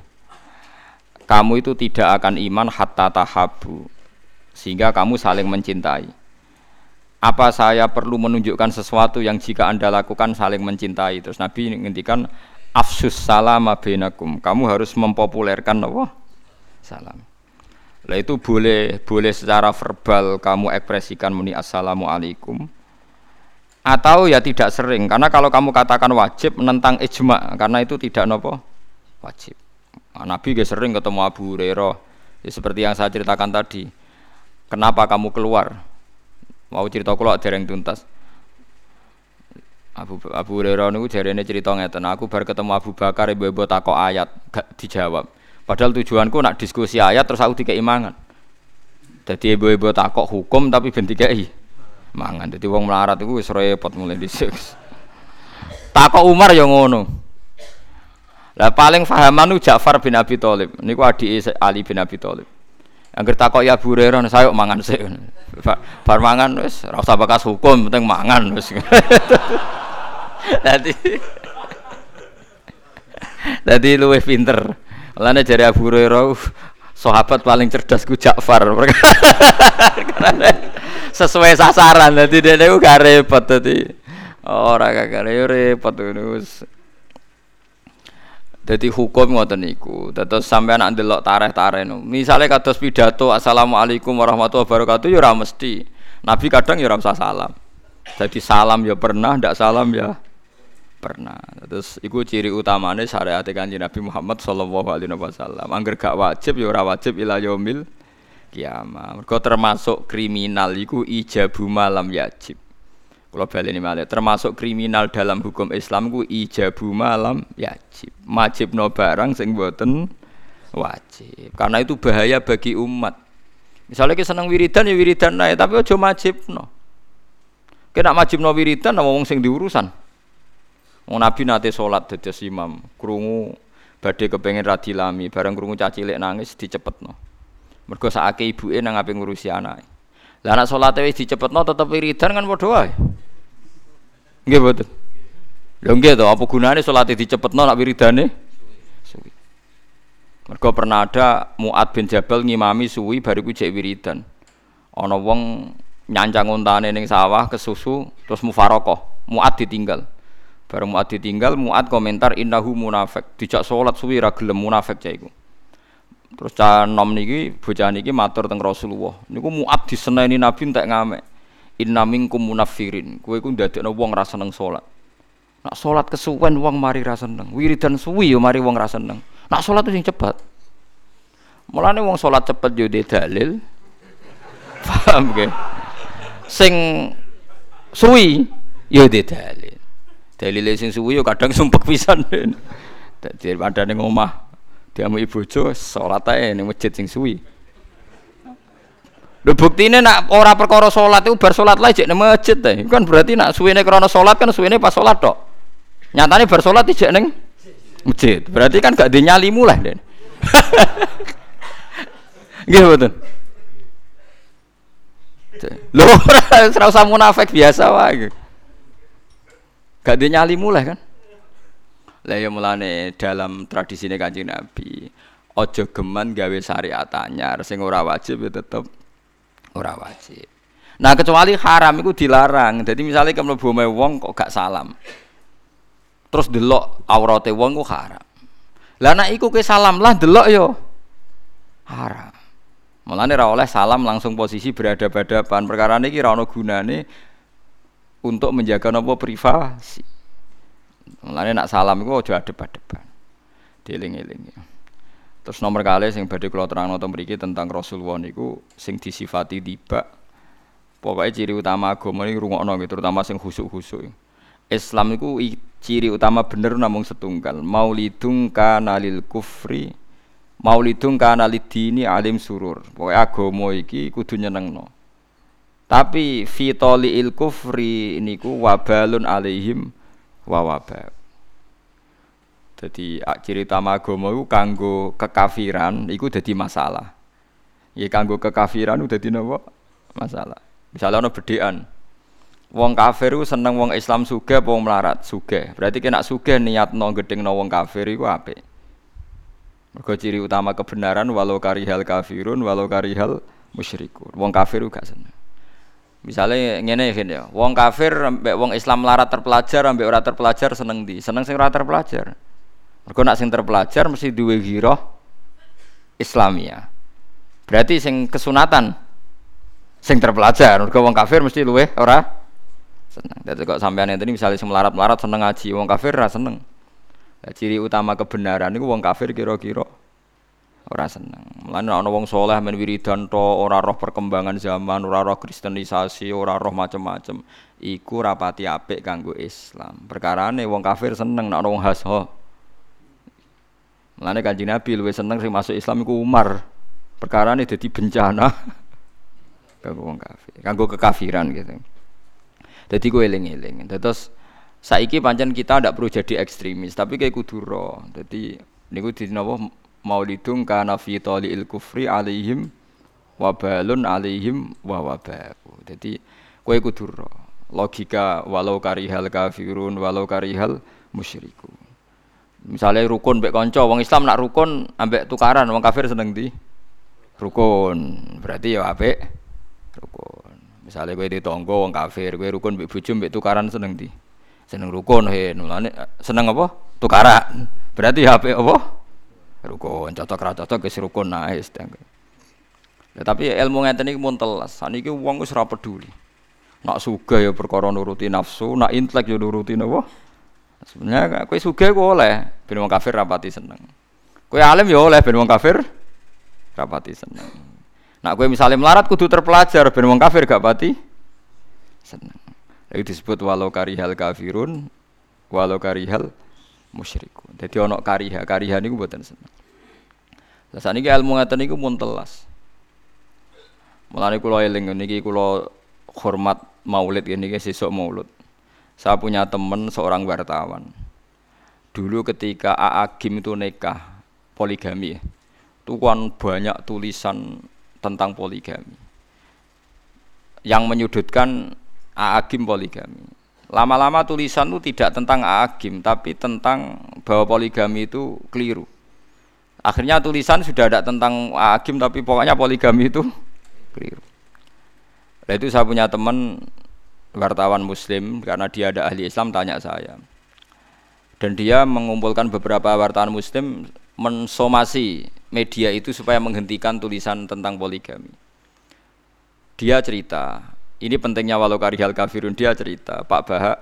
kamu itu tidak akan iman hatta tahabbu sehingga kamu saling mencintai. Apa saya perlu menunjukkan sesuatu yang jika Anda lakukan saling mencintai? Terus Nabi ngendikan afsus salama bainakum. Kamu harus mempopulerkan apa? Salam. Lah itu boleh boleh secara verbal kamu ekspresikan muni assalamualaikum. Atau ya tidak sering karena kalau kamu katakan wajib menentang ijma karena itu tidak napa wajib. Nah, Nabi gak sering ketemu Abu Hurairah. Ya, seperti yang saya ceritakan tadi. Kenapa kamu keluar? Mau cerita kula dereng tuntas. Abu Abu Hurairah niku jarene cerita ngeten, aku bar ketemu Abu Bakar ibu-ibu takok ayat gak dijawab. Padahal tujuanku nak diskusi ayat terus aku dikei mangan. Dadi ibu-ibu takok hukum tapi ben dikei mangan. Dadi wong melarat iku wis repot mulai dhisik. Takok Umar ya ngono. Lah paling fahaman niku Ja'far bin Abi Thalib. Niku adike Ali bin Abi Thalib. Angger takok ya Abu Hurairah saya mangan sik. Bar mangan wis ora usah bakas hukum, penting mangan wis. Dadi Dadi luwih pinter. Mulane jare Abu Hurairah sahabat paling cerdas ku Ja'far. Sesuai sasaran dadi dene ku gak repot dadi. Ora gak repot ngono. Dadi hukum ngoten niku. Dados sampean nak ndelok tareh-tareh no. Misale kados pidato assalamualaikum warahmatullahi wabarakatuh ya ora mesti. Nabi kadang ya ora usah salam. Jadi salam ya pernah, ndak salam ya pernah. Terus iku ciri utamane syariat Kanjeng Nabi Muhammad sallallahu alaihi wasallam. Angger gak wajib ya ora wajib ila yaumil kiamah. Mergo termasuk kriminal iku ijabu malam yajib. Kalau baleni malih termasuk kriminal dalam hukum Islam ku ijabu malam yajib. Majibno barang sing mboten wajib. Karena itu bahaya bagi umat. Misalnya kita seneng wiridan ya wiridan ae tapi aja majibno. Kena majibno wiridan wong sing diurusan. Wong Nabi nate salat dados imam, krungu badhe kepengin radilami, bareng krungu cah cilik nangis dicepetno. Mergo sakake ibuke nang ape ngurusi anake. Lah anak salate wis dicepetno tetep wiridan kan padha wae. Nggih mboten. Lho nggih to, apa gunane salate dicepetno nek wiridane suwi. Mergo pernah ada Mu'ad bin Jabal ngimami suwi bariku jek wiridan. Ana wong nyancang untane ning sawah kesusu terus mufaroqah. Mu'ad ditinggal. Bareng Mu'ad ditinggal, Mu'ad komentar innahu munafik. Dijak salat suwi ra gelem munafik cah iku. Terus cah nom niki bocah niki matur teng Rasulullah. Niku Mu'ad diseneni Nabi entek ngamek. Inna minkum munafirin. Kowe iku ndadekno wong ra seneng salat. Nak salat kesuwen wong mari ra seneng. Wiridan suwi yo mari wong ra seneng. Nak salat sing cepet. Mulane wong salat cepet yo de dalil. Paham nggih? Sing suwi yo de dalil. Dalile sing suwi yo kadang sumpek pisan. Dadi padane ngomah diamu bojo salat ae ning masjid sing suwi. Lho buktine nak ora perkara salat iku bar salat lae jek nang masjid ta. Kan berarti nak suwene krana salat kan suwene pas salat tok. Nyatane bar salat jek ning masjid. Berarti kan gak dinyalimu lah, Den. Nggih mboten. Lho ora usah munafik biasa wae. Gak dinyalimu lah kan. Lah ya mulane dalam tradisine Kanjeng Nabi, aja geman gawe syariat anyar sing ora wajib ya tetep ora wajib. Nah kecuali haram iku dilarang. Jadi misalnya kamu mlebu omahe wong kok gak salam. Terus delok aurate wong ku haram. Lah nek iku ke salam lah delok yo haram. Mulane ra oleh salam langsung posisi berhadapan-hadapan. Perkara niki ra ono gunane untuk menjaga napa privasi. Mulane nak salam iku aja adep-adepan. Dieling-eling. Terus nomor kali sing badhe kula terangno teng mriki tentang Rasulullah niku sing disifati tiba. Pokoke ciri utama agama iki rungokno gitu, terutama sing khusuk-khusuk. Islam iku ciri utama bener namung setunggal. Maulidung kana lil kufri, maulidung kana lidini alim surur. Pokoke agama iki kudu nyenengno. Tapi fitoliil kufri niku wabalun alaihim wa waba. Jadi ciri utama agama iku kanggo kekafiran iku dadi masalah. Ya kanggo kekafiran udah dadi napa? Masalah. Misalnya ana bedhekan. Wong kafir iku seneng wong Islam sugih apa wong melarat? Sugih. Berarti nek sugih niatno gedhengno wong kafir iku apik. Mergo ciri utama kebenaran walau karihal kafirun walau karihal musyrikun. Wong kafir uga seneng. Misalnya ngene ya, wong kafir ambek wong Islam melarat terpelajar ambek ora terpelajar seneng ndi? Seneng sing ora terpelajar. Mergo nek sing terpelajar mesti duwe ghirah Islamiyah. Berarti sing kesunatan sing terpelajar, mergo wong kafir mesti luweh ora seneng. Dadi kok sampeyan ngene misalnya sing melarat-melarat seneng ngaji, wong kafir ora seneng. Lah ciri utama kebenaran niku wong kafir kira-kira ora seneng. Mulane ana wong saleh men wiridan to ora roh perkembangan zaman, ora roh kristenisasi, ora roh macam-macam. Iku rapati apik kanggo Islam. Perkarane wong kafir seneng nek ana wong hasho. Mulane Kanjeng Nabi luwih seneng sing masuk Islam iku Umar. Perkarane dadi bencana kanggo wong kafir, kanggo kekafiran gitu. Dadi kowe eling-eling. Terus saiki pancen kita ndak perlu jadi ekstremis, tapi kayak kudu ro. Dadi niku dinapa maulidung kana fi taliil kufri alaihim wabalun alaihim wa wabaku. Dadi kowe kudu ro. Logika walau karihal kafirun walau karihal musyrikun. Misalnya rukun mbek kanca, wong Islam nak rukun ambek tukaran, wong kafir seneng ndi? Rukun. Berarti ya apik rukun. Misalnya kowe ditangga wong kafir, kowe rukun mbek bojo mbek tukaran seneng ndi? Seneng rukun he. Mulane seneng apa? Tukaran. Berarti ya apik apa? Rukun. Cocok ra cocok wis rukun nae wis. Ya, tapi ilmu ngeten iki mun telas. Saniki wong wis ora peduli. Nak sugih ya perkara nuruti nafsu, nak intelek ya nuruti napa? Sebenarnya kowe sugih ku oleh ben wong kafir rapati seneng. Kowe alim ya oleh ben wong kafir rapati seneng. Nak kowe misale melarat kudu terpelajar ben wong kafir gak pati seneng. Iki disebut walau karihal kafirun walau karihal musyrikun. Dadi ana kariha, kariha niku mboten seneng. Lah saniki ilmu ngaten niku mun telas. Mulane kula eling niki kula hormat Maulid ngene iki sesuk Maulid. Saya punya teman seorang wartawan. Dulu ketika A A Gim itu nikah poligami, itu kan banyak tulisan tentang poligami yang menyudutkan A A Gim poligami. Lama-lama tulisan itu tidak tentang A A Gim, tapi tentang bahwa poligami itu keliru. Akhirnya tulisan sudah ada tentang A A Gim, tapi pokoknya poligami itu keliru. Nah itu saya punya teman wartawan muslim karena dia ada ahli Islam tanya saya. Dan dia mengumpulkan beberapa wartawan muslim mensomasi media itu supaya menghentikan tulisan tentang poligami. Dia cerita, ini pentingnya walau karihal kafirun, dia cerita, Pak Bahak,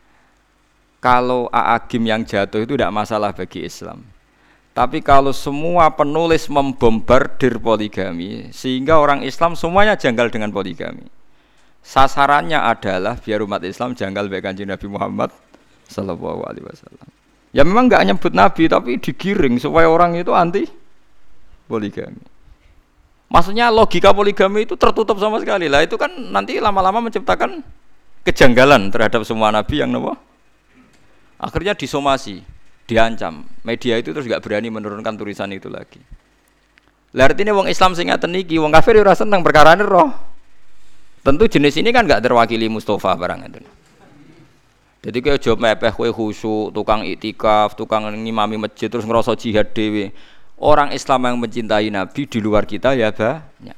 kalau A'agim yang jatuh itu tidak masalah bagi Islam. Tapi kalau semua penulis membombardir poligami, sehingga orang Islam semuanya janggal dengan poligami. Sasarannya adalah biar umat Islam janggal bagi Kanjeng Nabi Muhammad Sallallahu Alaihi Wasallam. Ya memang nggak nyebut Nabi, tapi digiring supaya orang itu anti poligami. Maksudnya logika poligami itu tertutup sama sekali lah. Itu kan nanti lama-lama menciptakan kejanggalan terhadap semua Nabi yang nopo. Akhirnya disomasi. Diancam, media itu terus gak berani menurunkan tulisan itu lagi. Lah artinya wong Islam sing ngaten iki, wong kafir ora seneng perkarane roh. Tentu jenis ini kan gak terwakili Mustafa barang itu. Jadi kowe aja mepeh kowe khusyuk, tukang iktikaf, tukang ngimami masjid terus ngerasa jihad dhewe. Orang Islam yang mencintai Nabi di luar kita ya banyak.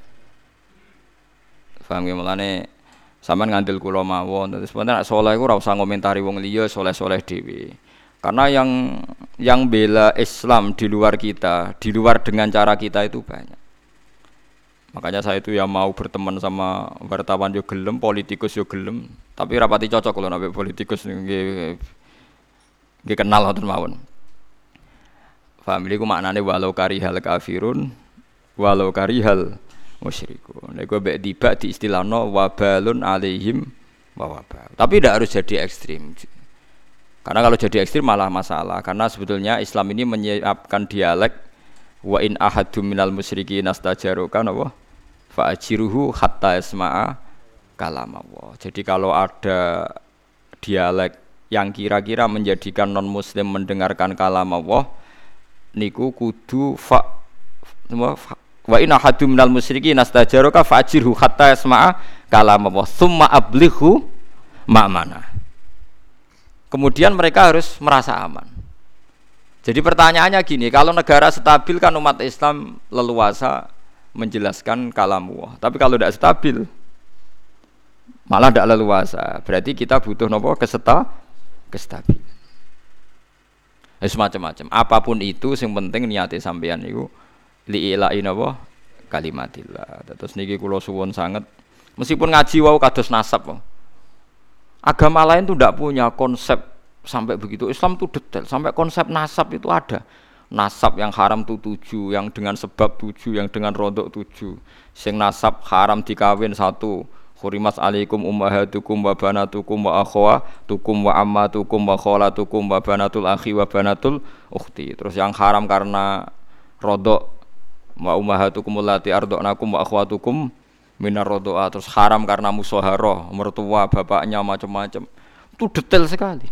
Paham ya mulane sampean ngandel kula mawon, terus sebenarnya nek saleh iku ora usah ngomentari wong liya saleh-saleh dhewe. Karena yang yang bela Islam di luar kita, di luar dengan cara kita itu banyak. Makanya saya itu ya mau berteman sama wartawan yo gelem, politikus yo gelem, tapi rapati cocok kalau nabe politikus nggih nggih kenal ngoten mawon. Famili ku maknane walau karihal kafirun, walau karihal musyrikun. Nek gue mbek tiba di istilahno wabalun alaihim wa wabal. Tapi tidak harus jadi ekstrim. Karena kalau jadi ekstrim malah masalah. Karena sebetulnya Islam ini menyiapkan dialek wa in ahadum minal musyrikin astajaruka napa fa ajiruhu hatta yasma'a kalam Allah. Jadi kalau ada dialek yang kira-kira menjadikan non muslim mendengarkan kalam Allah niku kudu fa wa in ahadum minal musyrikin astajaruka fa ajirhu hatta yasma'a kalam Allah summa ablighu ma'mana. Kemudian mereka harus merasa aman. Jadi pertanyaannya gini, kalau negara stabil kan umat Islam leluasa menjelaskan kalamullah. Tapi kalau tidak stabil, malah tidak leluasa. Berarti kita butuh nopo keseta, kestabilan. Ya, semacam-macam. Apapun itu, yang penting niate sampean itu li'ila'i nopo kalimatillah. Terus niki kula suwun sanget. Meskipun ngaji wau kados nasab. Agama lain tuh tidak punya konsep sampai begitu. Islam tuh detail, sampai konsep nasab itu ada. Nasab yang haram tuh tujuh, yang dengan sebab tujuh, yang dengan rodok tujuh. Sing nasab haram dikawin satu. Hurimat alaikum ummahatukum wa banatukum wa akhwatukum wa ammatukum wa khalatukum wa banatul akhi wa banatul ukhti. Terus yang haram karena rodok wa ummahatukum allati arda'nakum wa akhwatukum minar rodoa, terus haram karena musoharoh, mertua, bapaknya macam-macam. Itu detail sekali.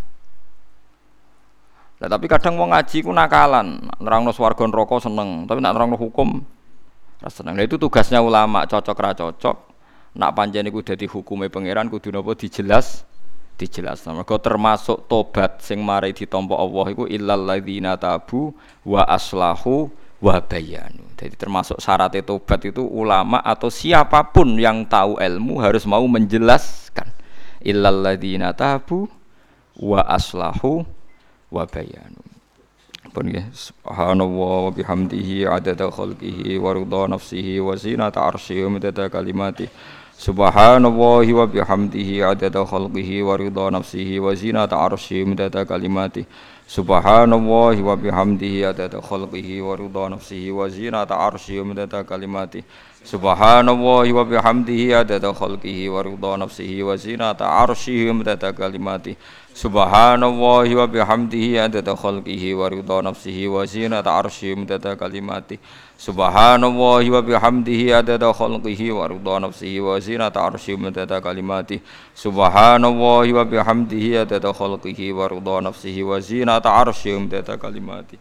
Nah, tapi kadang mau ngaji ku nakalan, nerangno swarga neraka seneng, tapi nak nerangno hukum ra seneng. Nah, itu tugasnya ulama, cocok ra cocok. Nak pancen iku dadi hukume pangeran kudu napa dijelas, dijelas. Mergo termasuk tobat sing mari ditampa Allah iku illal ladzina tabu wa aslahu wa bayanu. Jadi termasuk syarat tobat itu ulama atau siapapun yang tahu ilmu harus mau menjelaskan. Illal ladzina tabu wa aslahu wa bayanu. Pun nggih subhanallah wa bihamdihi adada khalqihi wa ridha nafsihi wa zinata arsyihi wa midada kalimatihi. Subhanallahi wa bihamdihi adada khalqihi wa ridha nafsihi wa zinata arsyihi wa midada kalimatihi. Subhanallahi wa bihamdihi adada khalqihi wa ridha nafsihi wa zinata arsyihi wa midada kalimatihi. Subhanallahi wa bihamdihi adada khalqihi wa ridha nafsihi wa zinata arsyihi wa midada kalimatihi. Subhanallahi wa bihamdihi adada khalqihi wa ridha nafsihi wa zinata arsyihi wa midada kalimatihi. Subhanallahi wa bihamdihi adada khalqihi wa ridha nafsihi wa zinata arsyihi wa midada kalimatihi. Subhanallahi wa bihamdihi adada khalqihi wa ridha nafsihi wa zinata arsyihi wa midada kalimatihi.